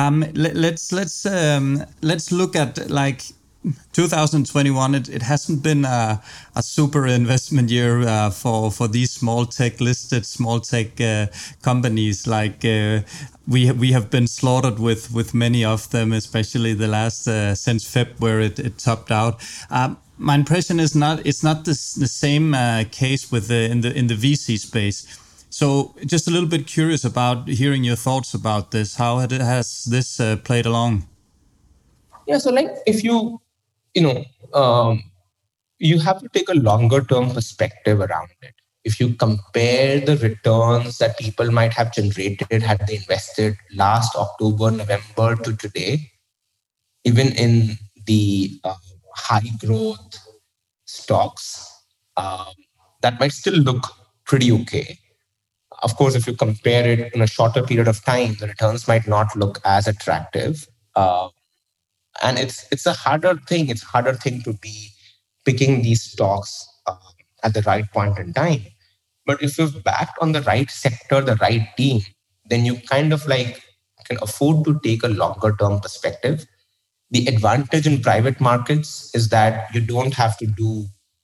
Let's look at like 2021. It hasn't been a super investment year for these small tech companies. Like we have been slaughtered with many of them, especially the last since Feb, where it topped out. My impression is it's not the same case with in the VC space. So just a little bit curious about hearing your thoughts about this. How has this played along? Yeah, so like if you have to take a longer term perspective around it. If you compare the returns that people might have generated had they invested last October, November to today, even in the high growth stocks, that might still look pretty okay. Of course, if you compare it in a shorter period of time, the returns might not look as attractive. And it's a harder thing. It's a harder thing to be picking these stocks at the right point in time. But if you've backed on the right sector, the right team, then you kind of like can afford to take a longer term perspective. The advantage in private markets is that you don't have to do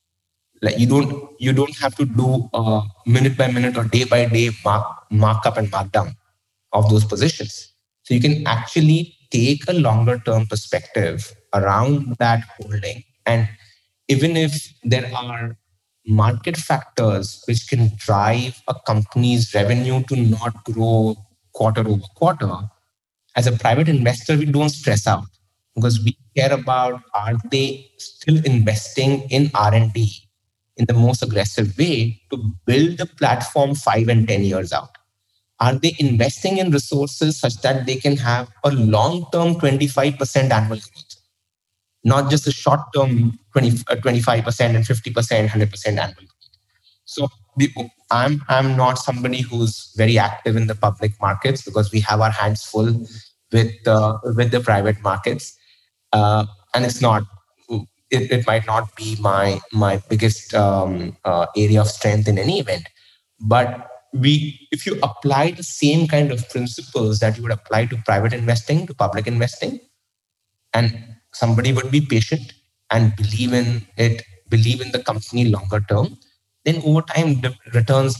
minute by minute or day by day markup and markdown of those positions. So you can actually take a longer term perspective around that holding. And even if there are market factors which can drive a company's revenue to not grow quarter over quarter, as a private investor, we don't stress out because we care about, are they still investing in R&D in the most aggressive way to build the platform 5 and 10 years out? Are they investing in resources such that they can have a long-term 25% annual growth, not just a short-term 25% and 50%, 100% annual growth? So I'm not somebody who's very active in the public markets because we have our hands full with the private markets, and it's not. It might not be my biggest area of strength in any event, but if you apply the same kind of principles that you would apply to private investing to public investing, and somebody would be patient and believe in the company longer term, then over time the returns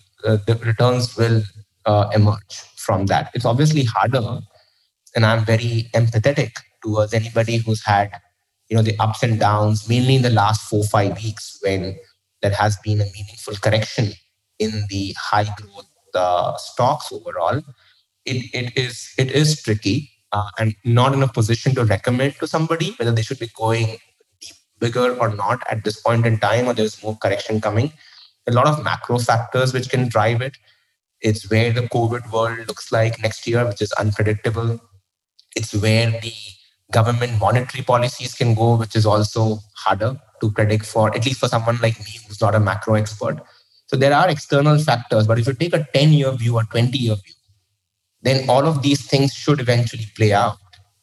will emerge from that. It's obviously harder, and I'm very empathetic towards anybody who's had the ups and downs, mainly in the last 4-5 weeks when there has been a meaningful correction in the high growth stocks overall. It is tricky. I'm not in a position to recommend to somebody whether they should be going deep, bigger or not at this point in time, or there's more correction coming. A lot of macro factors which can drive it. It's where the COVID world looks like next year, which is unpredictable. It's where the government monetary policies can go, which is also harder to predict for, at least for someone like me who's not a macro expert. So there are external factors, but if you take a 10-year view or 20-year view, then all of these things should eventually play out.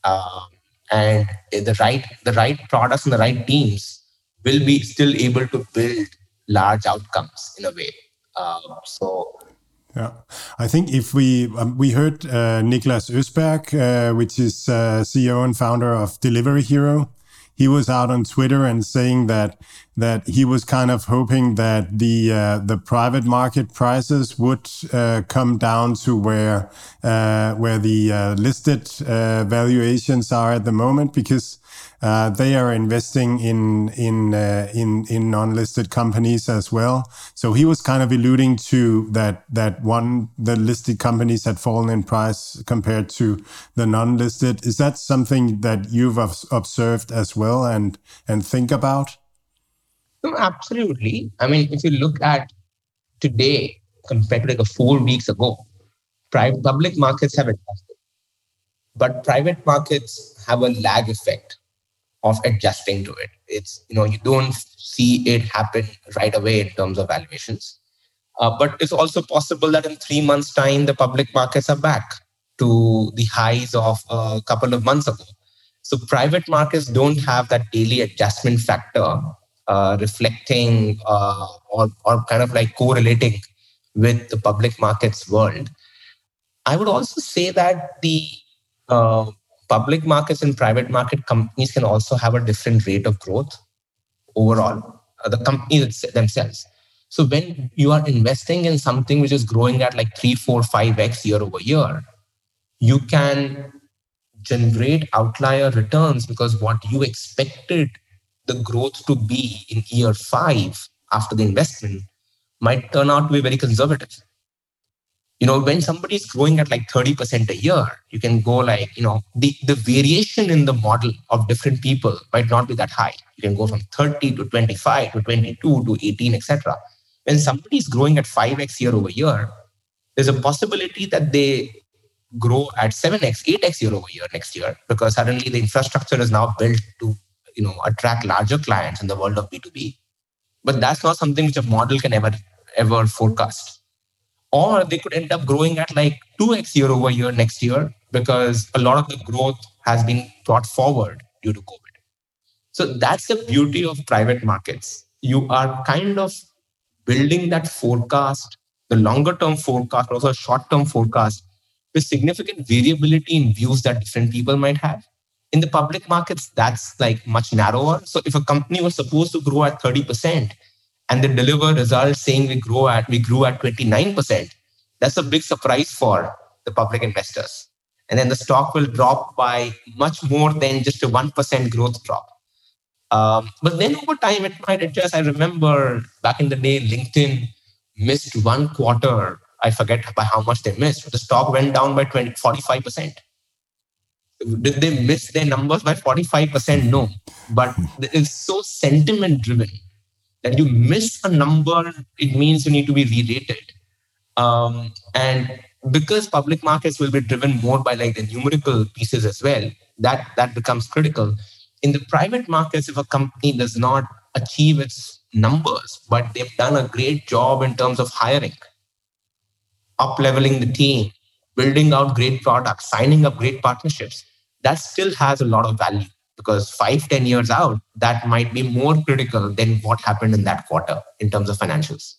And the right products and the right teams will be still able to build large outcomes in a way. Yeah, I think if we heard Niklas Östberg, which is CEO and founder of Delivery Hero, he was out on Twitter and saying that he was kind of hoping that the private market prices would come down to where the listed valuations are at the moment, because they are investing in non-listed companies as well. So he was kind of alluding to that the listed companies had fallen in price compared to the non-listed. Is that something that you've observed as well and think about? No, absolutely. I mean, if you look at today compared to like 4 weeks ago, public markets have adjusted, but private markets have a lag effect of adjusting to it. It's, you don't see it happen right away in terms of valuations. But it's also possible that in 3 months' time, the public markets are back to the highs of a couple of months ago. So private markets don't have that daily adjustment factor reflecting or kind of like correlating with the public markets world. I would also say that the public markets and private market companies can also have a different rate of growth overall, the companies themselves. So when you are investing in something which is growing at like 3, 4, 5x year over year, you can generate outlier returns because what you expected the growth to be in year 5 after the investment might turn out to be very conservative. When somebody is growing at like 30% a year, you can go like, the variation in the model of different people might not be that high. You can go from 30 to 25 to 22 to 18, etc. When somebody is growing at 5x year over year, there's a possibility that they grow at 7x, 8x year over year next year, because suddenly the infrastructure is now built to attract larger clients in the world of B2B. But that's not something which a model can ever forecast. Or they could end up growing at like 2x year over year next year because a lot of the growth has been brought forward due to COVID. So that's the beauty of private markets. You are kind of building that forecast, the longer term forecast, but also a short term forecast with significant variability in views that different people might have. In the public markets, that's like much narrower. So if a company was supposed to grow at 30% and they deliver results saying we grew at 29%, that's a big surprise for the public investors. And then the stock will drop by much more than just a 1% growth drop. But then over time, it might adjust. I remember back in the day, LinkedIn missed one quarter. I forget by how much they missed. But the stock went down by 45%. Did they miss their numbers by 45%? No. But it's so sentiment driven that you miss a number, it means you need to be re-rated. And because public markets will be driven more by like the numerical pieces as well, that becomes critical. In the private markets, if a company does not achieve its numbers, but they've done a great job in terms of hiring, up-leveling the team, building out great products, signing up great partnerships, that still has a lot of value, because 5-10 years out, that might be more critical than what happened in that quarter in terms of financials.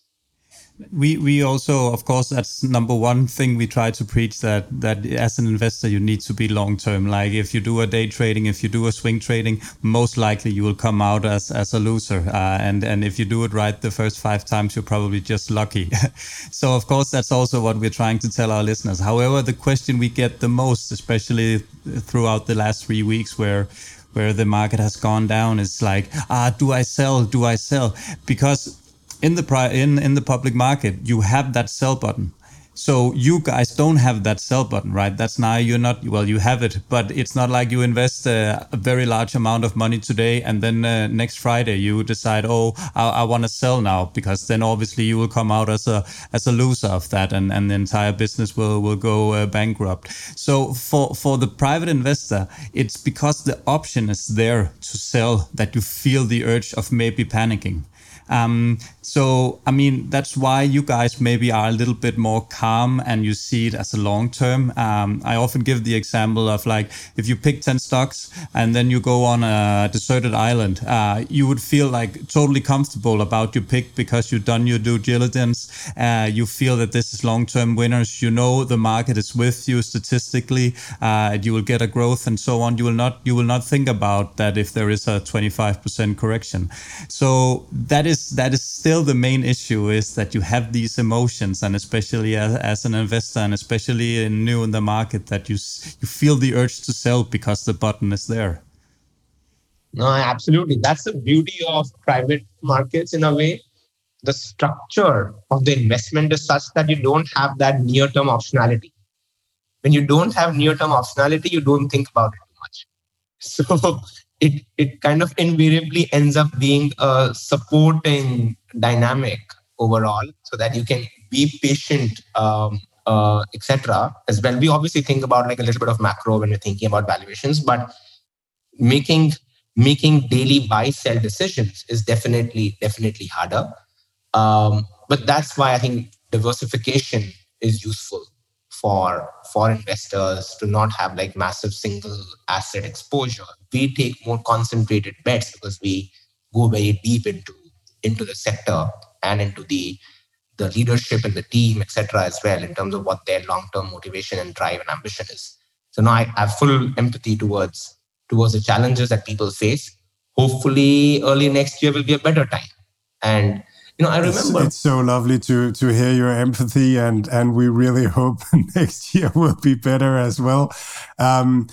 We also, of course, that's number one thing we try to preach, that as an investor, you need to be long term. Like if you do a day trading, if you do a swing trading, most likely you will come out as a loser. And if you do it right the first 5 times, you're probably just lucky. So, of course, that's also what we're trying to tell our listeners. However, the question we get the most, especially throughout the last 3 weeks where the market has gone down, is like, do I sell? Do I sell? Because in the public market, you have that sell button. So you guys don't have that sell button, right? That's now you're not, well, you have it, but it's not like you invest a very large amount of money today and then next Friday you decide, I want to sell now, because then obviously you will come out as a loser of that, and the entire business will go bankrupt. So for the private investor, it's because the option is there to sell that you feel the urge of maybe panicking. So, I mean, that's why you guys maybe are a little bit more calm and you see it as a long term. I often give the example of like, if you pick 10 stocks and then you go on a deserted island, you would feel like totally comfortable about your pick because you've done your due diligence. You feel that this is long-term winners. You know, the market is with you statistically. You will get a growth and so on. You will not think about that if there is a 25% correction. So that is still the main issue, is that you have these emotions, and especially as an investor, and especially new in the market, that you feel the urge to sell because the button is there. No, absolutely. That's the beauty of private markets in a way. The structure of the investment is such that you don't have that near-term optionality. When you don't have near-term optionality, you don't think about it too much. So it kind of invariably ends up being a supporting dynamic overall, so that you can be patient, etc. as well. We obviously think about like a little bit of macro when we're thinking about valuations, but making daily buy-sell decisions is definitely harder. But that's why I think diversification is useful for investors, to not have like massive single asset exposure. We take more concentrated bets because we go very deep into the sector and into the leadership and the team, etc. as well, in terms of what their long-term motivation and drive and ambition is. So now I have full empathy towards the challenges that people face. Hopefully early next year will be a better time. And I remember it's so lovely to hear your empathy, and we really hope next year will be better as well. I'm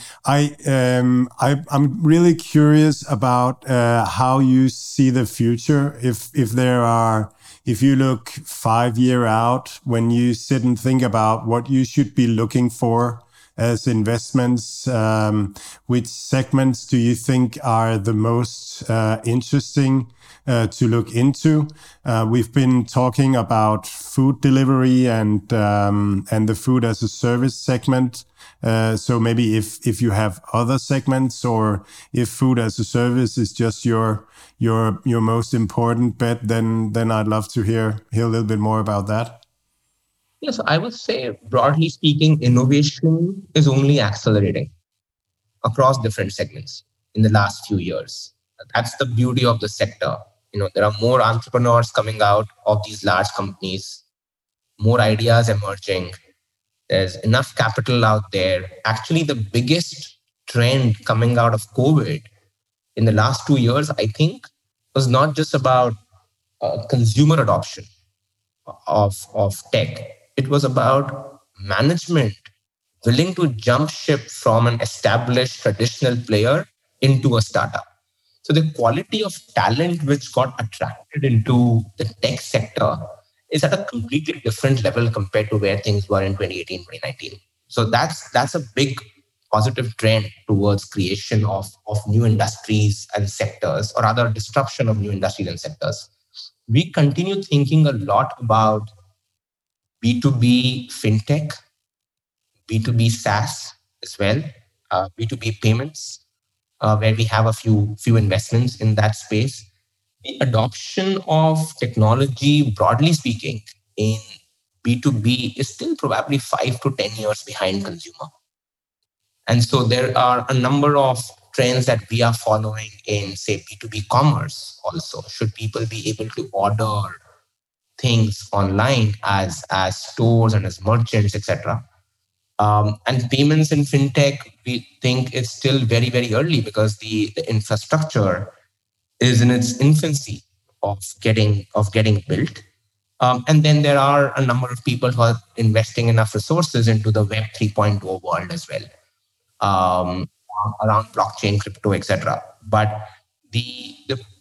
really curious about how you see the future. If you look 5 years out, when you sit and think about what you should be looking for as investments, which segments do you think are the most interesting to look into? We've been talking about food delivery and the food as a service segment. So maybe if you have other segments, or if food as a service is just your most important bet, then I'd love to hear a little bit more about that. Yes, I would say, broadly speaking, innovation is only accelerating across different segments in the last few years. That's the beauty of the sector. There are more entrepreneurs coming out of these large companies, more ideas emerging. There's enough capital out there. Actually, the biggest trend coming out of COVID in the last 2 years, I think, was not just about consumer adoption of tech. It was about management willing to jump ship from an established traditional player into a startup. So the quality of talent which got attracted into the tech sector is at a completely different level compared to where things were in 2018, 2019. So that's a big positive trend towards creation of new industries and sectors, or rather disruption of new industries and sectors. We continue thinking a lot about B2B fintech B2B SaaS as well, B2B payments, where we have a few investments in that space. The adoption of technology, broadly speaking, in B2B is still probably 5 to 10 years behind consumer. And so there are a number of trends that we are following in, say, B2B commerce also. Should people be able to order things online as stores and as merchants, etc.? And payments in fintech, we think it's still very, very early because the infrastructure is in its infancy of getting built. And then there are a number of people who are investing enough resources into the Web 3.0 world as well, around blockchain, crypto, etc. But the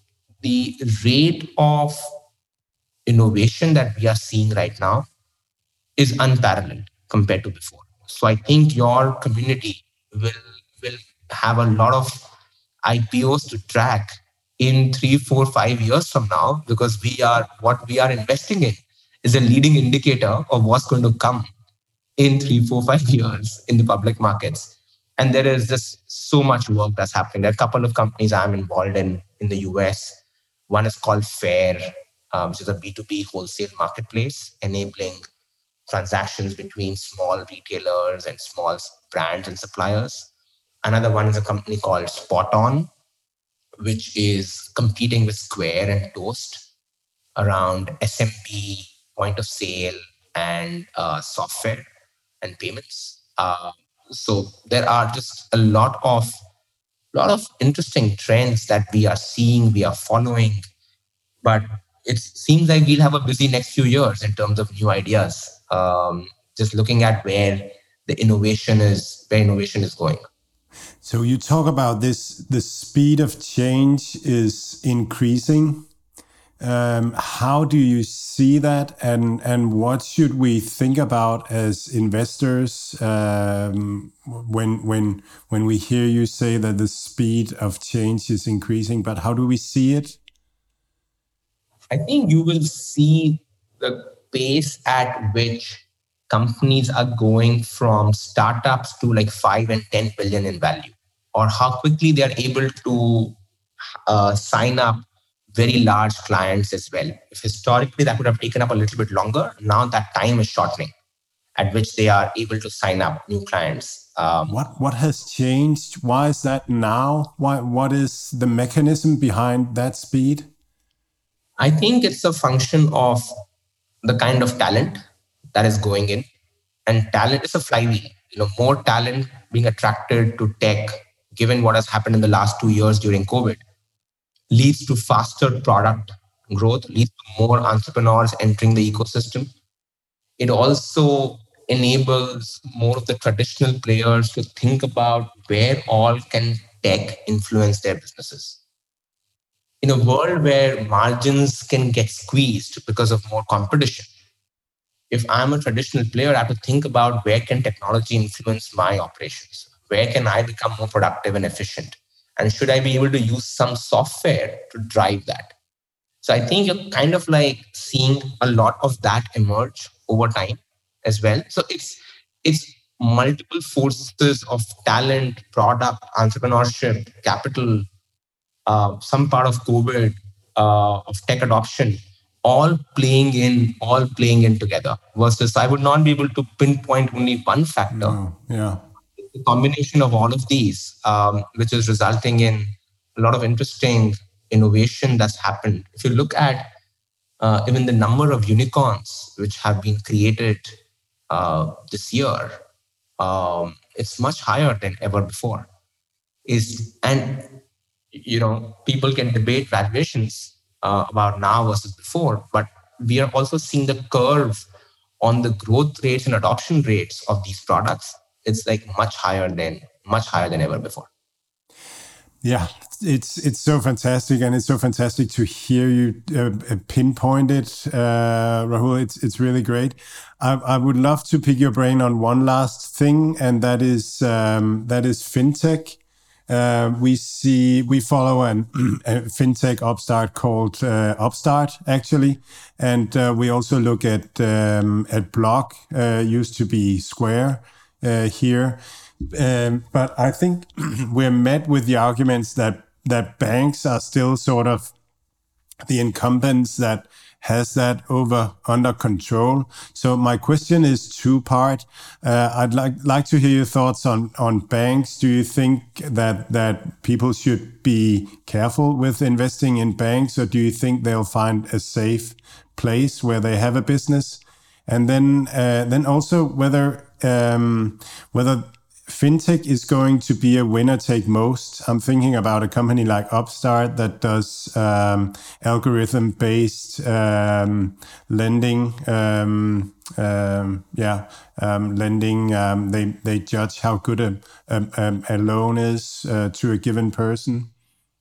rate of innovation that we are seeing right now is unparalleled compared to before. So I think your community will have a lot of IPOs to track in 3, 4, 5 years from now, because what we are investing in is a leading indicator of what's going to come in 3, 4, 5 years in the public markets. And there is just so much work that's happening. There are a couple of companies I'm involved in the US. One is called Fair, which is a B2B wholesale marketplace enabling transactions between small retailers and small brands and suppliers. Another one is a company called Spot On, which is competing with Square and Toast around SMB, point of sale, and software and payments. So there are just a lot of interesting trends that we are seeing, we are following, but it seems like we'll have a busy next few years in terms of new ideas. Just looking at where the innovation is going. So you talk about this, the speed of change is increasing. How do you see that, and what should we think about as investors when we hear you say that the speed of change is increasing? But how do we see it? I think you will see the pace at which companies are going from startups to like 5 and 10 billion in value, or how quickly they are able to sign up very large clients as well. If historically that would have taken up a little bit longer, now that time is shortening at which they are able to sign up new clients. What has changed? Why is that now? What is the mechanism behind that speed? I think it's a function of the kind of talent that is going in, and talent is a flywheel. More talent being attracted to tech, given what has happened in the last 2 years during COVID, leads to faster product growth, leads to more entrepreneurs entering the ecosystem. It also enables more of the traditional players to think about where all can tech influence their businesses. In a world where margins can get squeezed because of more competition, if I'm a traditional player, I have to think about where can technology influence my operations? Where can I become more productive and efficient? And should I be able to use some software to drive that? So I think you're kind of like seeing a lot of that emerge over time as well. So it's multiple forces of talent, product, entrepreneurship, capital, some part of COVID, of tech adoption, all playing in together. Versus I would not be able to pinpoint only one factor. No, yeah. The combination of all of these, which is resulting in a lot of interesting innovation that's happened. If you look at even the number of unicorns which have been created this year, it's much higher than ever before. People can debate valuations about now versus before, but we are also seeing the curve on the growth rates and adoption rates of these products. It's like much higher than ever before. Yeah, it's so fantastic, and it's so fantastic to hear you pinpoint it, Rahul. It's really great. I would love to pick your brain on one last thing, and that is fintech. We follow a fintech upstart called Upstart, actually, and we also look at Block. Used to be Square. here. But I think we're met with the arguments that banks are still sort of the incumbents that has that under control. So my question is two-part. I'd like to hear your thoughts on banks. Do you think that people should be careful with investing in banks, or do you think they'll find a safe place where they have a business? And then also whether fintech is going to be a winner take most. I'm thinking about a company like Upstart that does algorithm-based lending. Lending. They judge how good a loan is to a given person.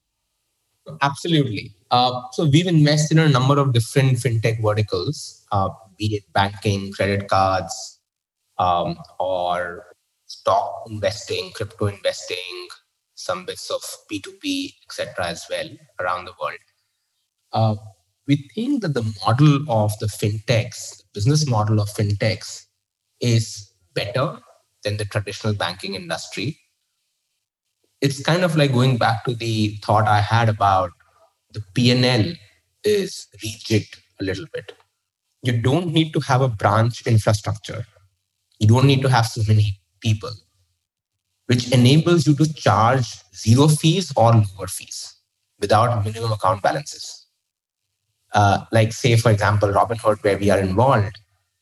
Absolutely. So we've invested in a number of different fintech verticals, be it banking, credit cards, or stock investing, crypto investing, some bits of P2P, etc. as well around the world. We think that the model of the fintechs, the business model of fintechs, is better than the traditional banking industry. It's kind of like going back to the thought I had about the P&L is rejigged a little bit. You don't need to have a branch infrastructure. You don't need to have so many people, which enables you to charge zero fees or lower fees without minimum account balances. Like say, for example, Robinhood, where we are involved,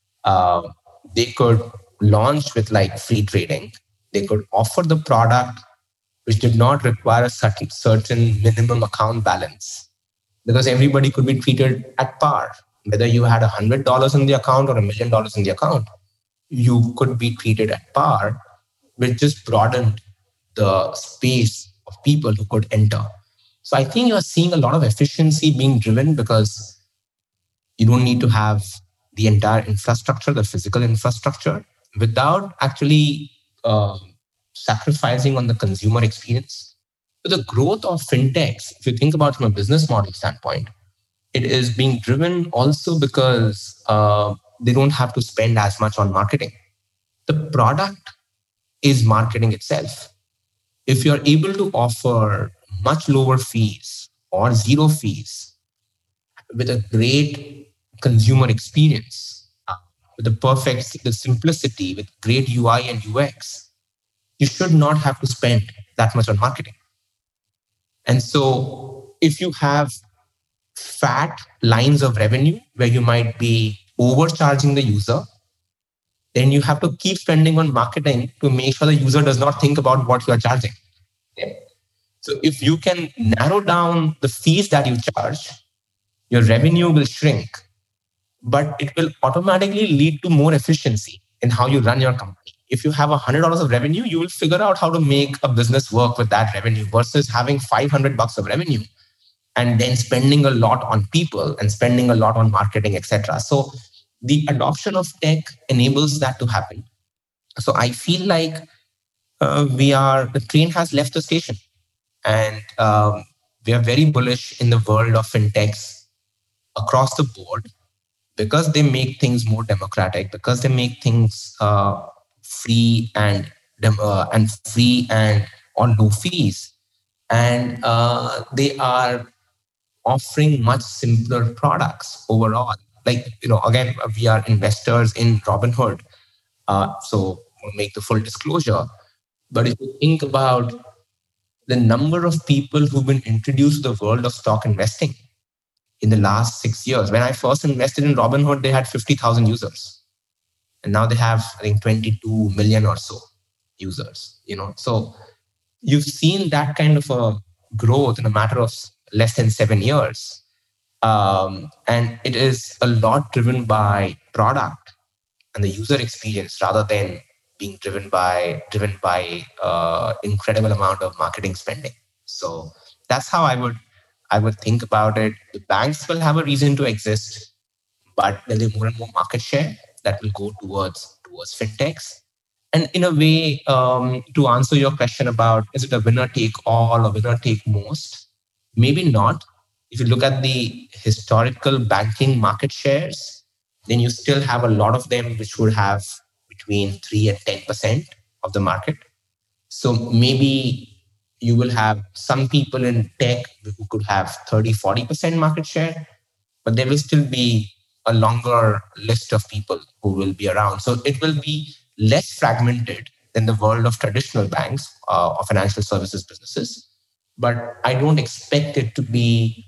they could launch with like free trading. They could offer the product which did not require a certain minimum account balance, because everybody could be treated at par. Whether you had $100 in the account or $1 million in the account, you could be treated at par, which just broadened the space of people who could enter. So I think you're seeing a lot of efficiency being driven because you don't need to have the entire infrastructure, the physical infrastructure, without actually sacrificing on the consumer experience. So the growth of fintechs, if you think about it from a business model standpoint, it is being driven also because they don't have to spend as much on marketing. The product is marketing itself. If you're able to offer much lower fees or zero fees with a great consumer experience, with the simplicity, with great UI and UX, you should not have to spend that much on marketing. And so if you have fat lines of revenue where you might be overcharging the user, then you have to keep spending on marketing to make sure the user does not think about what you are charging. Yeah. So if you can narrow down the fees that you charge, your revenue will shrink, but it will automatically lead to more efficiency in how you run your company. If you have $100 of revenue, you will figure out how to make a business work with that revenue versus having $500 of revenue and then spending a lot on people and spending a lot on marketing, etc. So the adoption of tech enables that to happen. So I feel like the train has left the station, and we are very bullish in the world of fintechs across the board because they make things more democratic, because they make things free and on low fees, and they are offering much simpler products overall. Like, again, we are investors in Robinhood, so we'll make the full disclosure. But if you think about the number of people who've been introduced to the world of stock investing in the last 6 years, when I first invested in Robinhood, they had 50,000 users. And now they have, I think, 22 million or so users. So you've seen that kind of a growth in a matter of less than 7 years. And it is a lot driven by product and the user experience rather than being driven by incredible amount of marketing spending. So that's how I would think about it. The banks will have a reason to exist, but there'll be more and more market share that will go towards fintechs. And in a way, to answer your question about is it a winner take all or winner take most, maybe not. If you look at the historical banking market shares, then you still have a lot of them which would between 3 and 10% of the market. So maybe you will have some people in tech who could have 30, 40% market share, but there will still be a longer list of people who will be around. So it will be less fragmented than the world of traditional banks or financial services businesses. But I don't expect it to be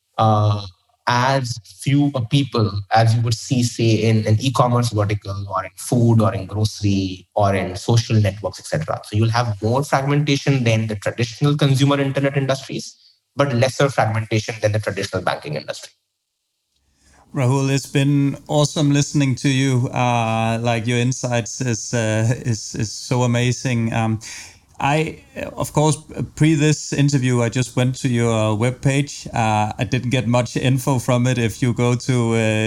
as few people as you would see, say, in an e-commerce vertical or in food or in grocery or in social networks, etc. So you'll have more fragmentation than the traditional consumer internet industries, but lesser fragmentation than the traditional banking industry. Rahul, it's been awesome listening to you. Like your insights is so amazing. I, of course, pre this interview, I just went to your webpage. I didn't get much info from it. If you go to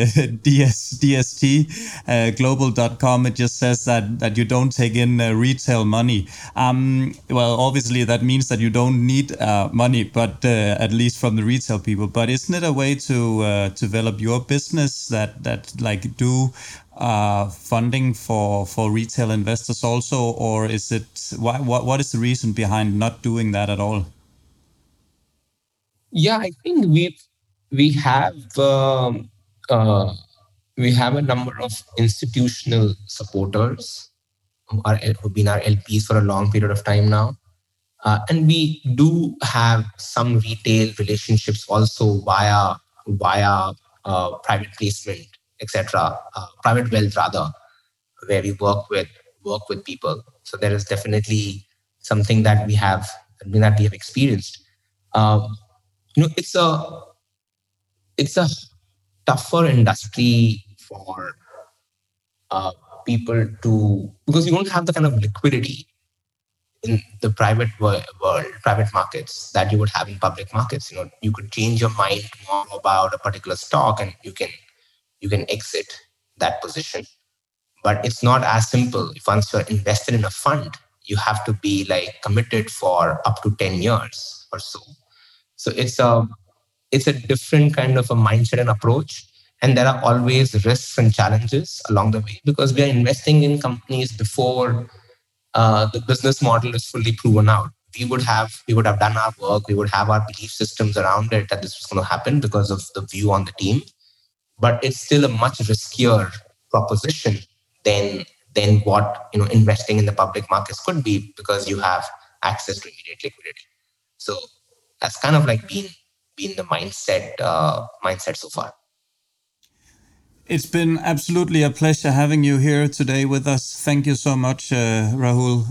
dstglobal.com, it just says that you don't take in retail money. Well, obviously, that means that you don't need money, but at least from the retail people. But isn't it a way to develop your business that like do funding for retail investors also, or is it what is the reason behind not doing that at all? Yeah, I think we have a number of institutional supporters who've been our LPs for a long period of time now, and we do have some retail relationships also via private placement, etc., private wealth rather, where we work with people. So there is definitely something that we have experienced. It's a tougher industry for people to, because you don't have the kind of liquidity in the private private markets that you would have in public markets. You could change your mind more about a particular stock and you can exit that position. But it's not as simple. If once you're invested in a fund, you have to be like committed for up to 10 years or so. So it's a different kind of a mindset and approach. And there are always risks and challenges along the way because we are investing in companies before the business model is fully proven out. We would have done our work. We would have our belief systems around it that this was going to happen because of the view on the team. But it's still a much riskier proposition than what investing in the public markets could be, because you have access to immediate liquidity. So that's kind of like been the mindset so far. It's been absolutely a pleasure having you here today with us. Thank you so much, Rahul.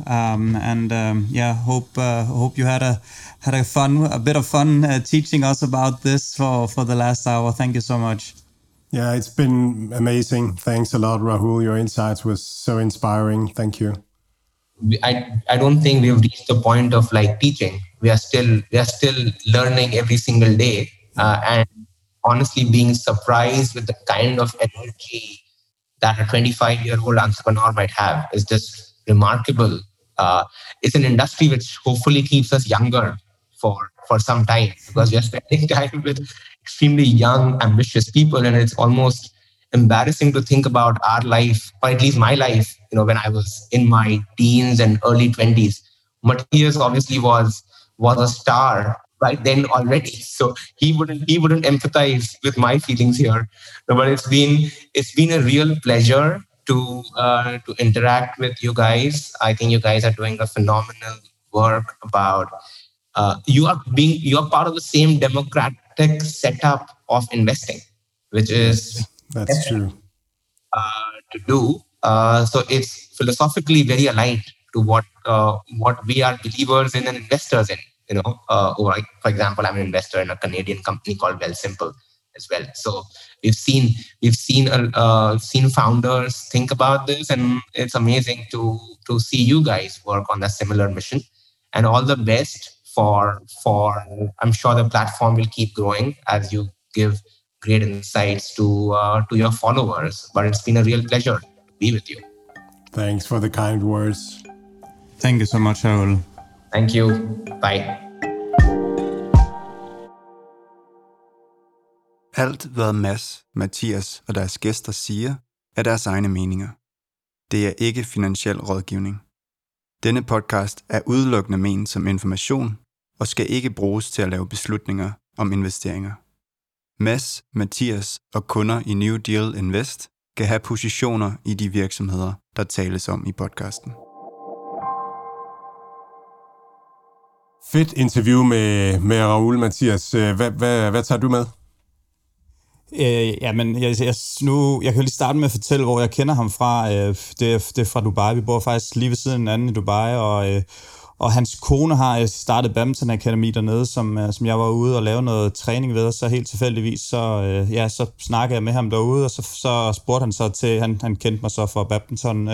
Hope you had a bit of fun teaching us about this for the last hour. Thank you so much. Yeah, it's been amazing. Thanks a lot, Rahul. Your insights was so inspiring. Thank you. I don't think we've reached the point of like teaching. We are still learning every single day, and honestly being surprised with the kind of energy that a 25-year-old entrepreneur might have is just remarkable. It's an industry which hopefully keeps us younger for some time, because we are spending time with extremely young, ambitious people, and it's almost embarrassing to think about our life, or at least my life, when I was in my teens and early 20s. Matthias obviously was a star right then already, so he wouldn't empathize with my feelings here. But it's been a real pleasure to interact with you guys. I think you guys are doing a phenomenal work about you are part of the same democratic setup of investing, which is that's true to do. So it's philosophically very aligned to what we are believers in and investors in. For example, I'm an investor in a Canadian company called Wealthsimple as well. So we've seen founders think about this, and it's amazing to see you guys work on a similar mission. And all the best for I'm sure the platform will keep growing as you give great insights to your followers. But it's been a real pleasure to be with you. Thanks for the kind words. Thank you so much, Rahul. Thank you. Bye. Alt, hvad Mads, Mathias og deres gæster siger, er deres egne meninger. Det er ikke finansiel rådgivning. Denne podcast er udelukkende ment som information og skal ikke bruges til at lave beslutninger om investeringer. Mads, Mathias og kunder i New Deal Invest kan have positioner i de virksomheder, der tales om i podcasten. Fedt interview med Raoul, Mathias. Hvad tager du med? Jamen, jeg kan lige starte med at fortælle, hvor jeg kender ham fra. Det er fra Dubai. Vi bor faktisk lige ved siden af hinanden i Dubai, og hans kone har startet Badminton Akademi dernede, som jeg var ude og lave noget træning ved, og så helt tilfældigvis, så snakkede jeg med ham derude, og så spurgte han så til, han kendte mig så for badminton,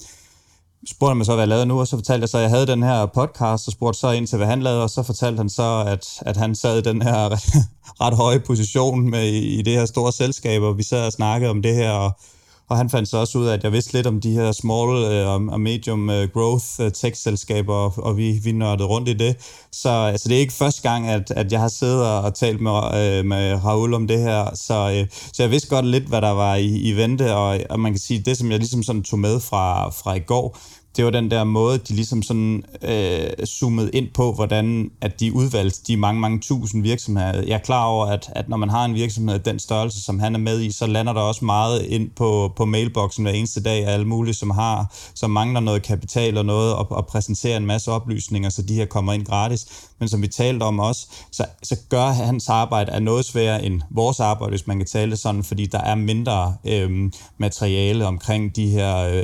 spurgte han mig så, hvad jeg lavede nu, og så fortalte jeg så, at jeg havde den her podcast, og spurgte så ind til, hvad han lavede, og så fortalte han så, at han sad i den her ret høje position med i det her store selskab, og vi sad og snakkede om det her, og han fandt så også ud af, at jeg vidste lidt om de her small og medium growth tech-selskaber, og vi nørdede rundt i det. Så det er ikke første gang, at jeg har siddet og talt med Raoul om det her. Så jeg vidste godt lidt, hvad der var i vente, og man kan sige, det som jeg ligesom sådan tog med fra i går, det var den der måde, de ligesom sådan zoomede ind på, hvordan at de udvalgte de mange tusind virksomheder. Jeg er klar over, at når man har en virksomhed af den størrelse, som han er med i, så lander der også meget ind på mailboksen hver eneste dag af alle mulige, som mangler noget kapital og noget, og præsenterer en masse oplysninger, så de her kommer ind gratis. Men som vi talte om også, så gør hans arbejde af noget sværere end vores arbejde, hvis man kan tale det sådan, fordi der er mindre materiale omkring de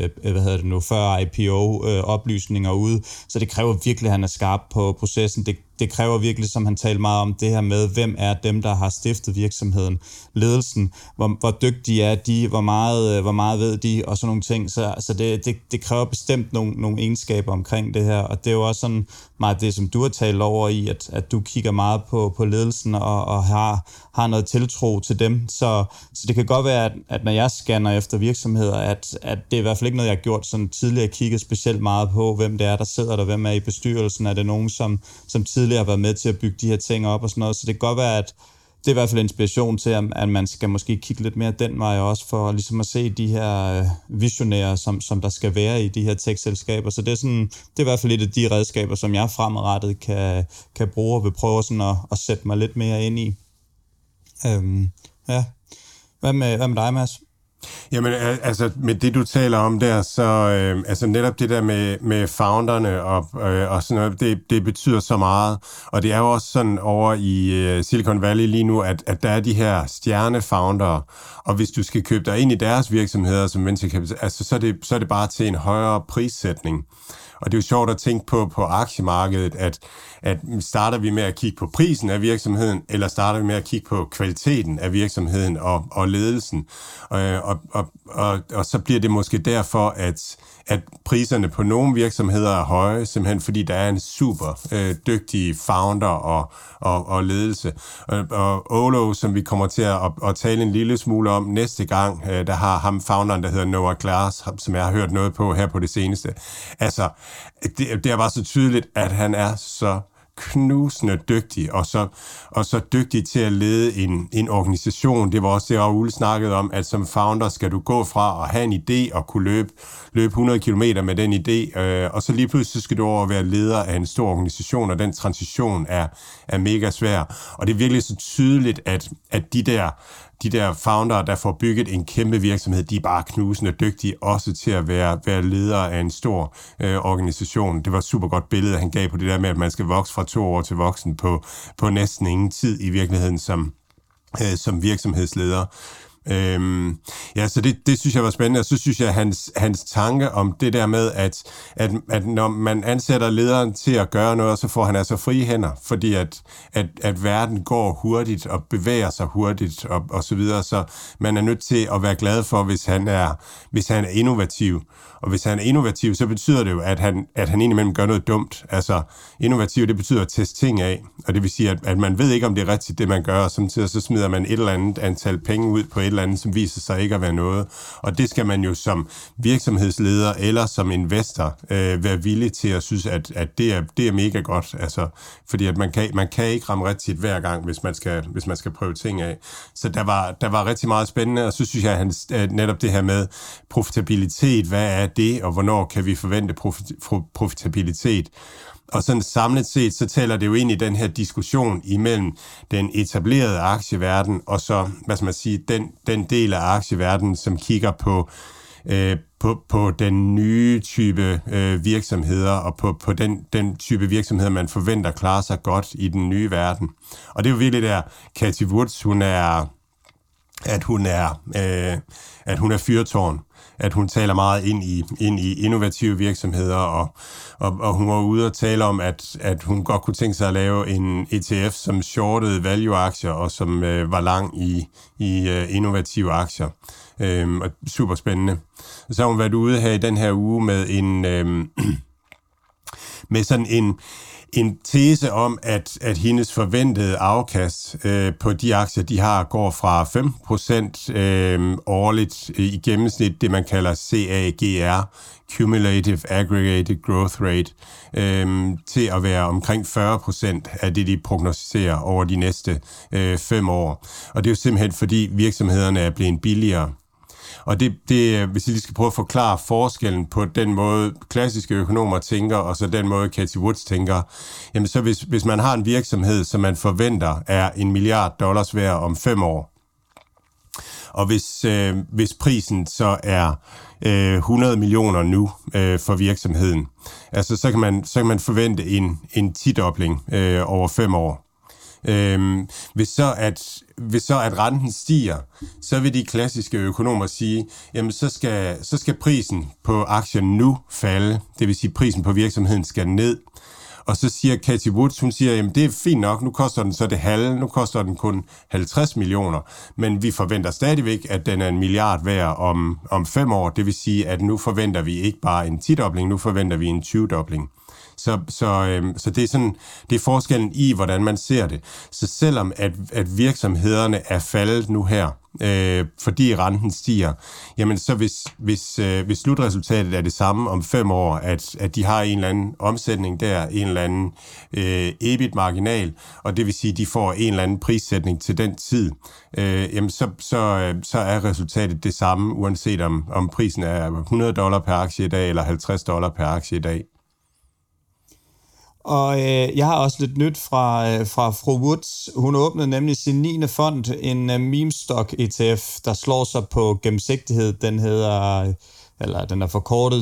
her, før IPO, oplysninger ude, så det kræver virkelig, at han er skarp på processen. Det kræver virkelig, som han talte meget om, det her med, hvem er dem, der har stiftet virksomheden, ledelsen, hvor dygtige er de, hvor meget ved de, og sådan nogle ting. Så det kræver bestemt nogle egenskaber omkring det her, og det er jo også sådan meget det, som du har talt over i, at du kigger meget på ledelsen og har noget tiltro til dem. Så det kan godt være, at når jeg scanner efter virksomheder, at det er i hvert fald ikke noget, jeg har gjort sådan tidligere, kigget specielt meget på, hvem det er, der sidder der, hvem er i bestyrelsen, er det nogen, som tidligere har været med til at bygge de her ting op og sådan noget. Så det kan godt være, at det er i hvert fald inspiration til, at man skal måske kigge lidt mere den vej også, for ligesom at se de her visionære, som der skal være i de her tech-selskaber. Så det er i hvert fald et af de redskaber, som jeg fremadrettet kan bruge og vil prøve sådan at sætte mig lidt mere ind i. Ja. Hvad med dig, Mads? Jamen, altså med det, du taler om der, så netop det der med founderne og sådan noget, det betyder så meget. Og det er jo også sådan over i Silicon Valley lige nu, at der er de her stjernefoundere, og hvis du skal købe dig ind i deres virksomheder som venture capital, altså så er det bare til en højere prissætning. Og det er jo sjovt at tænke på aktiemarkedet, at starter vi med at kigge på prisen af virksomheden, eller starter vi med at kigge på kvaliteten af virksomheden og ledelsen. Og så bliver det måske derfor, at priserne på nogle virksomheder er høje, simpelthen fordi der er en super dygtig founder og ledelse. Og Olo, som vi kommer til at tale en lille smule om næste gang, der har ham founderen, der hedder Noah Glass, som jeg har hørt noget på her på det seneste. Altså, det er bare så tydeligt, at han er så knusende dygtig, og så dygtig til at lede en organisation. Det var også det, Raoul snakkede om, at som founder skal du gå fra at have en idé og kunne løbe 100 kilometer med den idé, og så lige pludselig skal du over at være leder af en stor organisation, og den transition er mega svær. Og det er virkelig så tydeligt, at de der foundere, der får bygget en kæmpe virksomhed, de er bare knusende dygtige også til at være ledere af en stor organisation. Det var et super godt billede, han gav på det der med, at man skal vokse fra 2 år til voksen på næsten ingen tid i virkeligheden som virksomhedsleder. Så det synes jeg var spændende, og så synes jeg, hans tanke om det der med, at når man ansætter lederen til at gøre noget, så får han altså frie hænder, fordi at verden går hurtigt og bevæger sig hurtigt og så videre, så man er nødt til at være glad for, hvis han er innovativ. Og hvis han er innovativ, så betyder det jo, at han indimellem gør noget dumt. Altså, innovativ, det betyder at teste ting af. Og det vil sige, at man ved ikke, om det er rigtigt, det man gør, og samtidig så smider man et eller andet antal penge ud på et eller eller andet, som viser sig ikke at være noget. Og det skal man jo som virksomhedsleder eller som investor være villig til at synes, at det er mega godt. Altså, fordi at man kan ikke ramme rigtigt hver gang, hvis man skal prøve ting af. Så der var rigtig meget spændende, og så synes jeg, at netop det her med profitabilitet, hvad er det, og hvornår kan vi forvente profitabilitet? Og sådan samlet set, så taler det jo ind i den her diskussion imellem den etablerede aktieverden, og så, hvad skal man sige, den del af aktieverdenen, som kigger på den nye type virksomheder, og på den type virksomheder, man forventer klarer sig godt i den nye verden. Og det er jo virkelig der, Cathie Woods, hun er fyrtårn, at hun taler meget ind i innovative virksomheder, og hun var ude og tale om, at hun godt kunne tænke sig at lave en ETF, som shortede value-aktier, og som var lang i innovative aktier. Og super spændende. Så har hun været ude her i den her uge med sådan en tese om, at hendes forventede afkast på de aktier, de har, går fra 5% årligt i gennemsnit, det man kalder CAGR, Cumulative Aggregated Growth Rate, til at være omkring 40% af det, de prognostiserer over de næste 5 år. Og det er jo simpelthen, fordi virksomhederne er blevet billigere. Og det, hvis jeg lige skal prøve at forklare forskellen på den måde, klassiske økonomer tænker, og så den måde, Cathie Woods tænker, jamen så hvis man har en virksomhed, som man forventer er $1 milliard værd om 5 år, og hvis prisen så er 100 millioner nu for virksomheden, altså så kan man forvente en 10-dobling over 5 år. Hvis så at renten stiger, så vil de klassiske økonomer sige, jamen så skal prisen på aktien nu falde, det vil sige prisen på virksomheden skal ned. Og så siger Cathie Woods, hun siger, jamen det er fint nok, nu koster den så det halve, nu koster den kun 50 millioner, men vi forventer stadigvæk, at den er $1 milliard værd om 5 år, det vil sige, at nu forventer vi ikke bare en 10-dobling, nu forventer vi en 20-dobling. Så det er sådan, det er forskellen i, hvordan man ser det. Så selvom at virksomhederne er faldet nu her, fordi renten stiger, jamen så hvis slutresultatet er det samme om 5 år, at de har en eller anden omsætning der, en eller anden EBIT-marginal, og det vil sige, at de får en eller anden prissætning til den tid, jamen så er resultatet det samme, uanset om prisen er $100 per aktie i dag, eller $50 per aktie i dag. Og jeg har også lidt nyt fra fru Woods. Hun åbnede nemlig sin 9. fond, en meme stock ETF, der slår sig på gennemsigtighed. Den er forkortet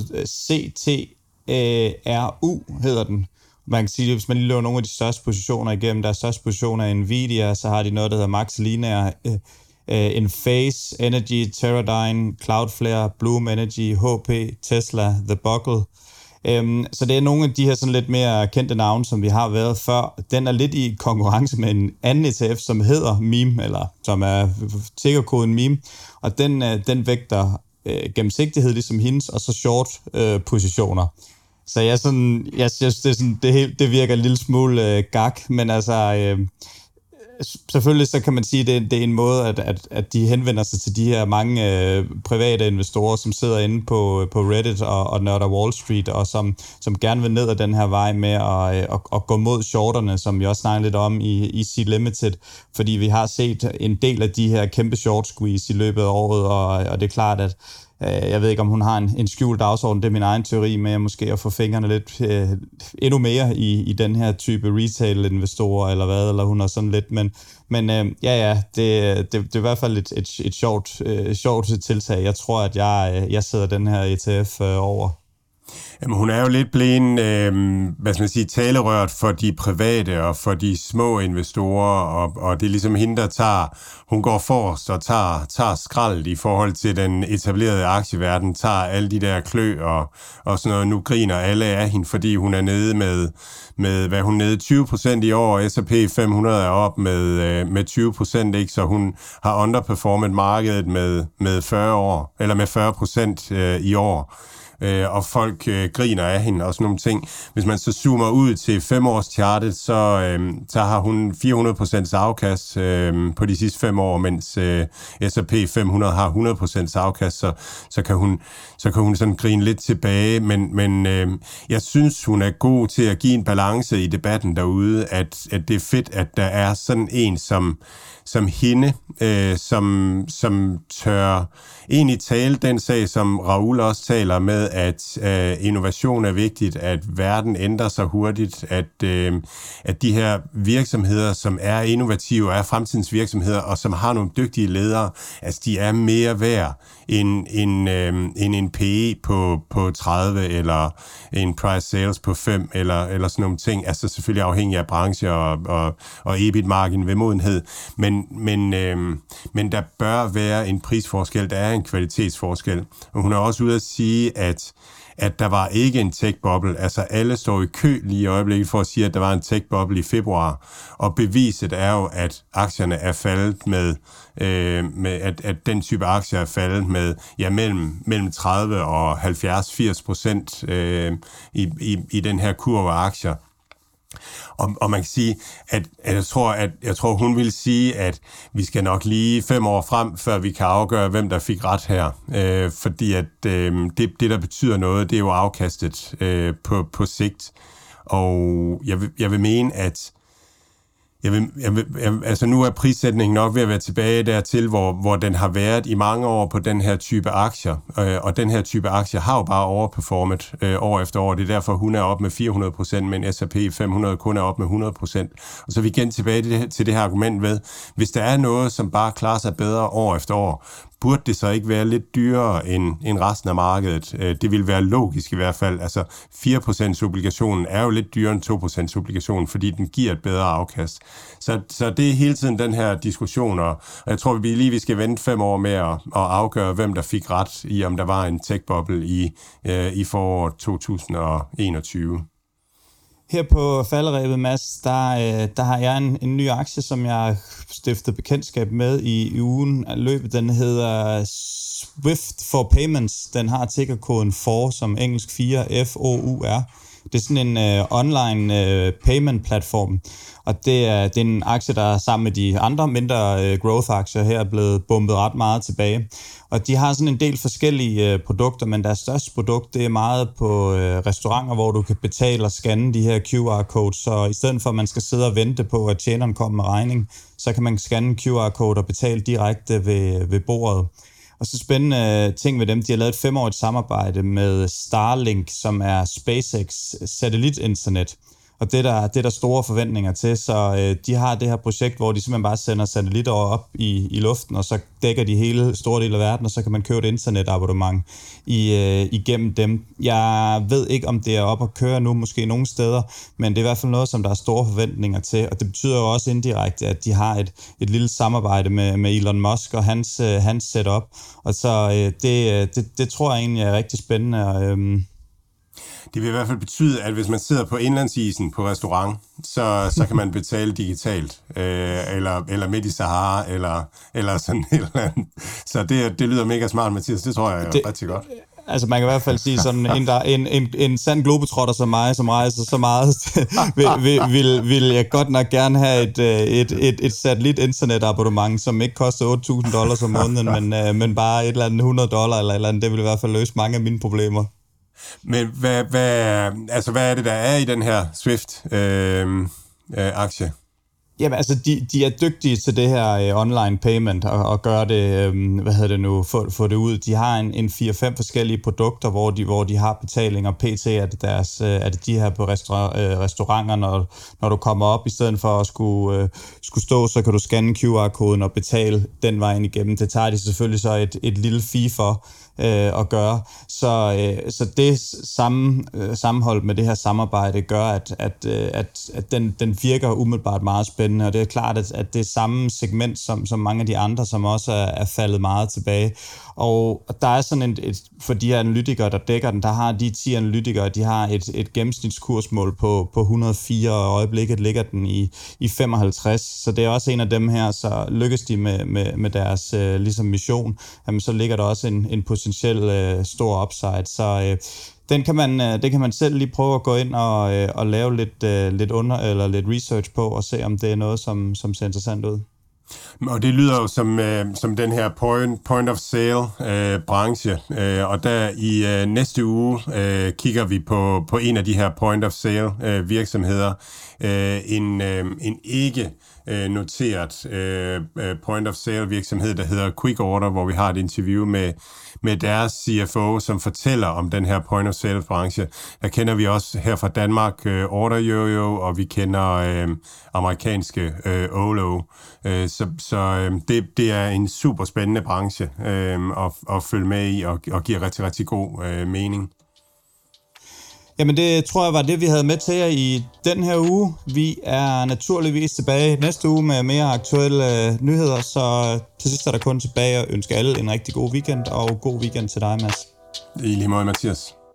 CTRU, hedder den. Man kan sige, at hvis man lige løber nogle af de største positioner igennem, deres største positioner er Nvidia, så har de noget, der hedder Max Linear, Enphase, Energy, Teradyne, Cloudflare, Bloom Energy, HP, Tesla, The Buckle. Så det er nogle af de her sådan lidt mere kendte navne, som vi har været før. Den er lidt i konkurrence med en anden ETF, som hedder MEME, eller som er tickerkoden MEME, og den vægter gennemsigtighed ligesom hendes, og så short positioner. Så jeg synes, det virker en lille smule gak, men altså selvfølgelig så kan man sige, at det er en måde, at de henvender sig til de her mange private investorer, som sidder inde på Reddit og nørder Wall Street, og som gerne vil ned ad den her vej med at gå mod shorterne, som vi også snakker lidt om i C-Limited, fordi vi har set en del af de her kæmpe short squeeze i løbet af året, og det er klart, at jeg ved ikke, om hun har en skjult dagsorden, det er min egen teori med måske at få fingrene lidt endnu mere i den her type retail-investorer, eller hvad, eller hun har sådan lidt, men det er i hvert fald et sjovt tiltag. Jeg tror, at jeg sidder den her ETF over. Jamen, hun er jo lidt blevet, talerørt for de private og for de små investorer, og det er ligesom hende, hun går forrest og tager skraldet i forhold til den etablerede aktieverden, tager alle de der klø og sådan noget. Nu griner alle af hende, fordi hun er nede med hvad hun nede 20% i år, S&P 500 er op med 20%, ikke? Så hun har underperformet markedet med 40% i år. og folk griner af hende og sådan nogle ting. Hvis man så zoomer ud til 5-årschartet, så har hun 400% afkast på de sidste 5 år, mens S&P 500 har 100% afkast, så kan hun sådan grine lidt tilbage, men jeg synes, hun er god til at give en balance i debatten derude, at det er fedt, at der er sådan en som hende, som tør egentlig tale den sag, som Raoul også taler med, at innovation er vigtigt, at verden ændrer sig hurtigt, at de her virksomheder, som er innovative, er fremtidens virksomheder, og som har nogle dygtige ledere, altså de er mere værd end en PE på 30, eller en price sales på 5, eller sådan nogle ting. Altså selvfølgelig afhængig af branche og EBIT-margin ved modenhed. Men der bør være en prisforskel, der er en kvalitetsforskel. Og hun er også ude at sige, at der var ikke en tech-boble. Altså alle står i kø lige i øjeblikket for at sige, at der var en tech-boble i februar. Og beviset er jo, at aktierne er faldet med at den type aktier er faldet med mellem 30 og 70-80% i den her kurve af aktier. Og man kan sige, at jeg tror, hun vil sige, at vi skal nok lige 5 år frem, før vi kan afgøre, hvem der fik ret her. Fordi at det, der betyder noget, det er jo afkastet på sigt. Og jeg vil mene, at altså nu er prissætningen nok ved at være tilbage dertil, hvor den har været i mange år på den her type aktier. Og den her type aktier har jo bare overperformet år efter år. Det er derfor, hun er op med 400%, men S&P 500 kun er op med 100%. Og så er vi igen tilbage til det her argument ved, hvis der er noget, som bare klarer sig bedre år efter år, burde det så ikke være lidt dyrere end resten af markedet? Det vil være logisk i hvert fald. Altså 4% obligationen er jo lidt dyrere end 2% obligationen, fordi den giver et bedre afkast. Så det er hele tiden den her diskussion, og jeg tror, vi skal vente 5 år med at afgøre, hvem der fik ret i, om der var en tech-boble i foråret 2021. Her på falderebet, Mads, der har jeg en ny aktie, som jeg stiftede bekendtskab med i ugen af løbet. Den hedder Swift for Payments. Den har tickerkoden FOUR, som engelsk 4, FOUR. Det er sådan en online payment-platform, og det er en aktie, der sammen med de andre mindre growth-aktier her er blevet bumpet ret meget tilbage. Og de har sådan en del forskellige produkter, men deres største produkt, det er meget på restauranter, hvor du kan betale og scanne de her QR-codes. Så i stedet for, at man skal sidde og vente på, at tjeneren kommer med regning, så kan man scanne en QR-code og betale direkte ved bordet. Og så spændende ting ved dem, de har lavet et 5-årigt samarbejde med Starlink, som er SpaceX satellitinternet. Og det er der store forventninger til, så de har det her projekt, hvor de simpelthen bare sender satellitter op i luften, og så dækker de hele store del af verden, og så kan man købe et internetabonnement igennem dem. Jeg ved ikke, om det er op at køre nu, måske nogle steder, men det er i hvert fald noget, som der er store forventninger til, og det betyder jo også indirekte, at de har et lille samarbejde med Elon Musk og hans setup, og så det tror jeg egentlig er rigtig spændende. Det vil i hvert fald betyde, at hvis man sidder på indlandsisen på restaurant, så kan man betale digitalt, eller midt i Sahara, eller sådan et eller andet. Så det lyder mega smart, Mathias. Det tror jeg er rigtig godt. Altså man kan i hvert fald sige sådan, en sand globetrotter som mig, som rejser så meget, vil jeg godt nok gerne have et satellit-internetabonnement, som ikke koster $8,000 om måneden, men bare et eller andet $100 eller et eller andet. Det vil i hvert fald løse mange af mine problemer. Men hvad er det, der er i den her Swift-aktie? Jamen altså, de er dygtige til det her online payment og gøre det, få det ud. De har en 4-5 forskellige produkter, hvor de har betalinger. PT er det de her på restauranter, når du kommer op, i stedet for at skulle stå, så kan du scanne QR-koden og betale den vejen igennem. Det tager de selvfølgelig så et lille fee for at gøre. Så det sammenhold med det her samarbejde gør, at den virker umiddelbart meget spændende, og det er klart, at det er samme segment som mange af de andre, som også er faldet meget tilbage. Og der er sådan for de her analytikere, der dækker den, der har de 10 analytikere, de har et gennemsnitskursmål på 104, og øjeblikket ligger den i 55, så det er også en af dem her, så lykkes de med deres ligesom mission, jamen, så ligger der også en position potentielt stor upside. Så det kan man selv lige prøve at gå ind og lave lidt research på, og se om det er noget, som ser interessant ud. Og det lyder jo som den her point of sale branche, og der i næste uge kigger vi på en af de her point of sale virksomheder, en ikke noteret point of sale virksomhed, der hedder Quick Order, hvor vi har et interview med deres CFO, som fortæller om den her point of sale branche. Der kender vi også her fra Danmark OrderYoyo, og vi kender amerikanske Olo. Så det er en super spændende branche at følge med i, og giver rigtig, rigtig god mening. Jamen det tror jeg var det, vi havde med til jer i den her uge. Vi er naturligvis tilbage næste uge med mere aktuelle nyheder, så til sidst er der kun tilbage at ønske alle en rigtig god weekend, og god weekend til dig, Mads. I lige måde, Mathias.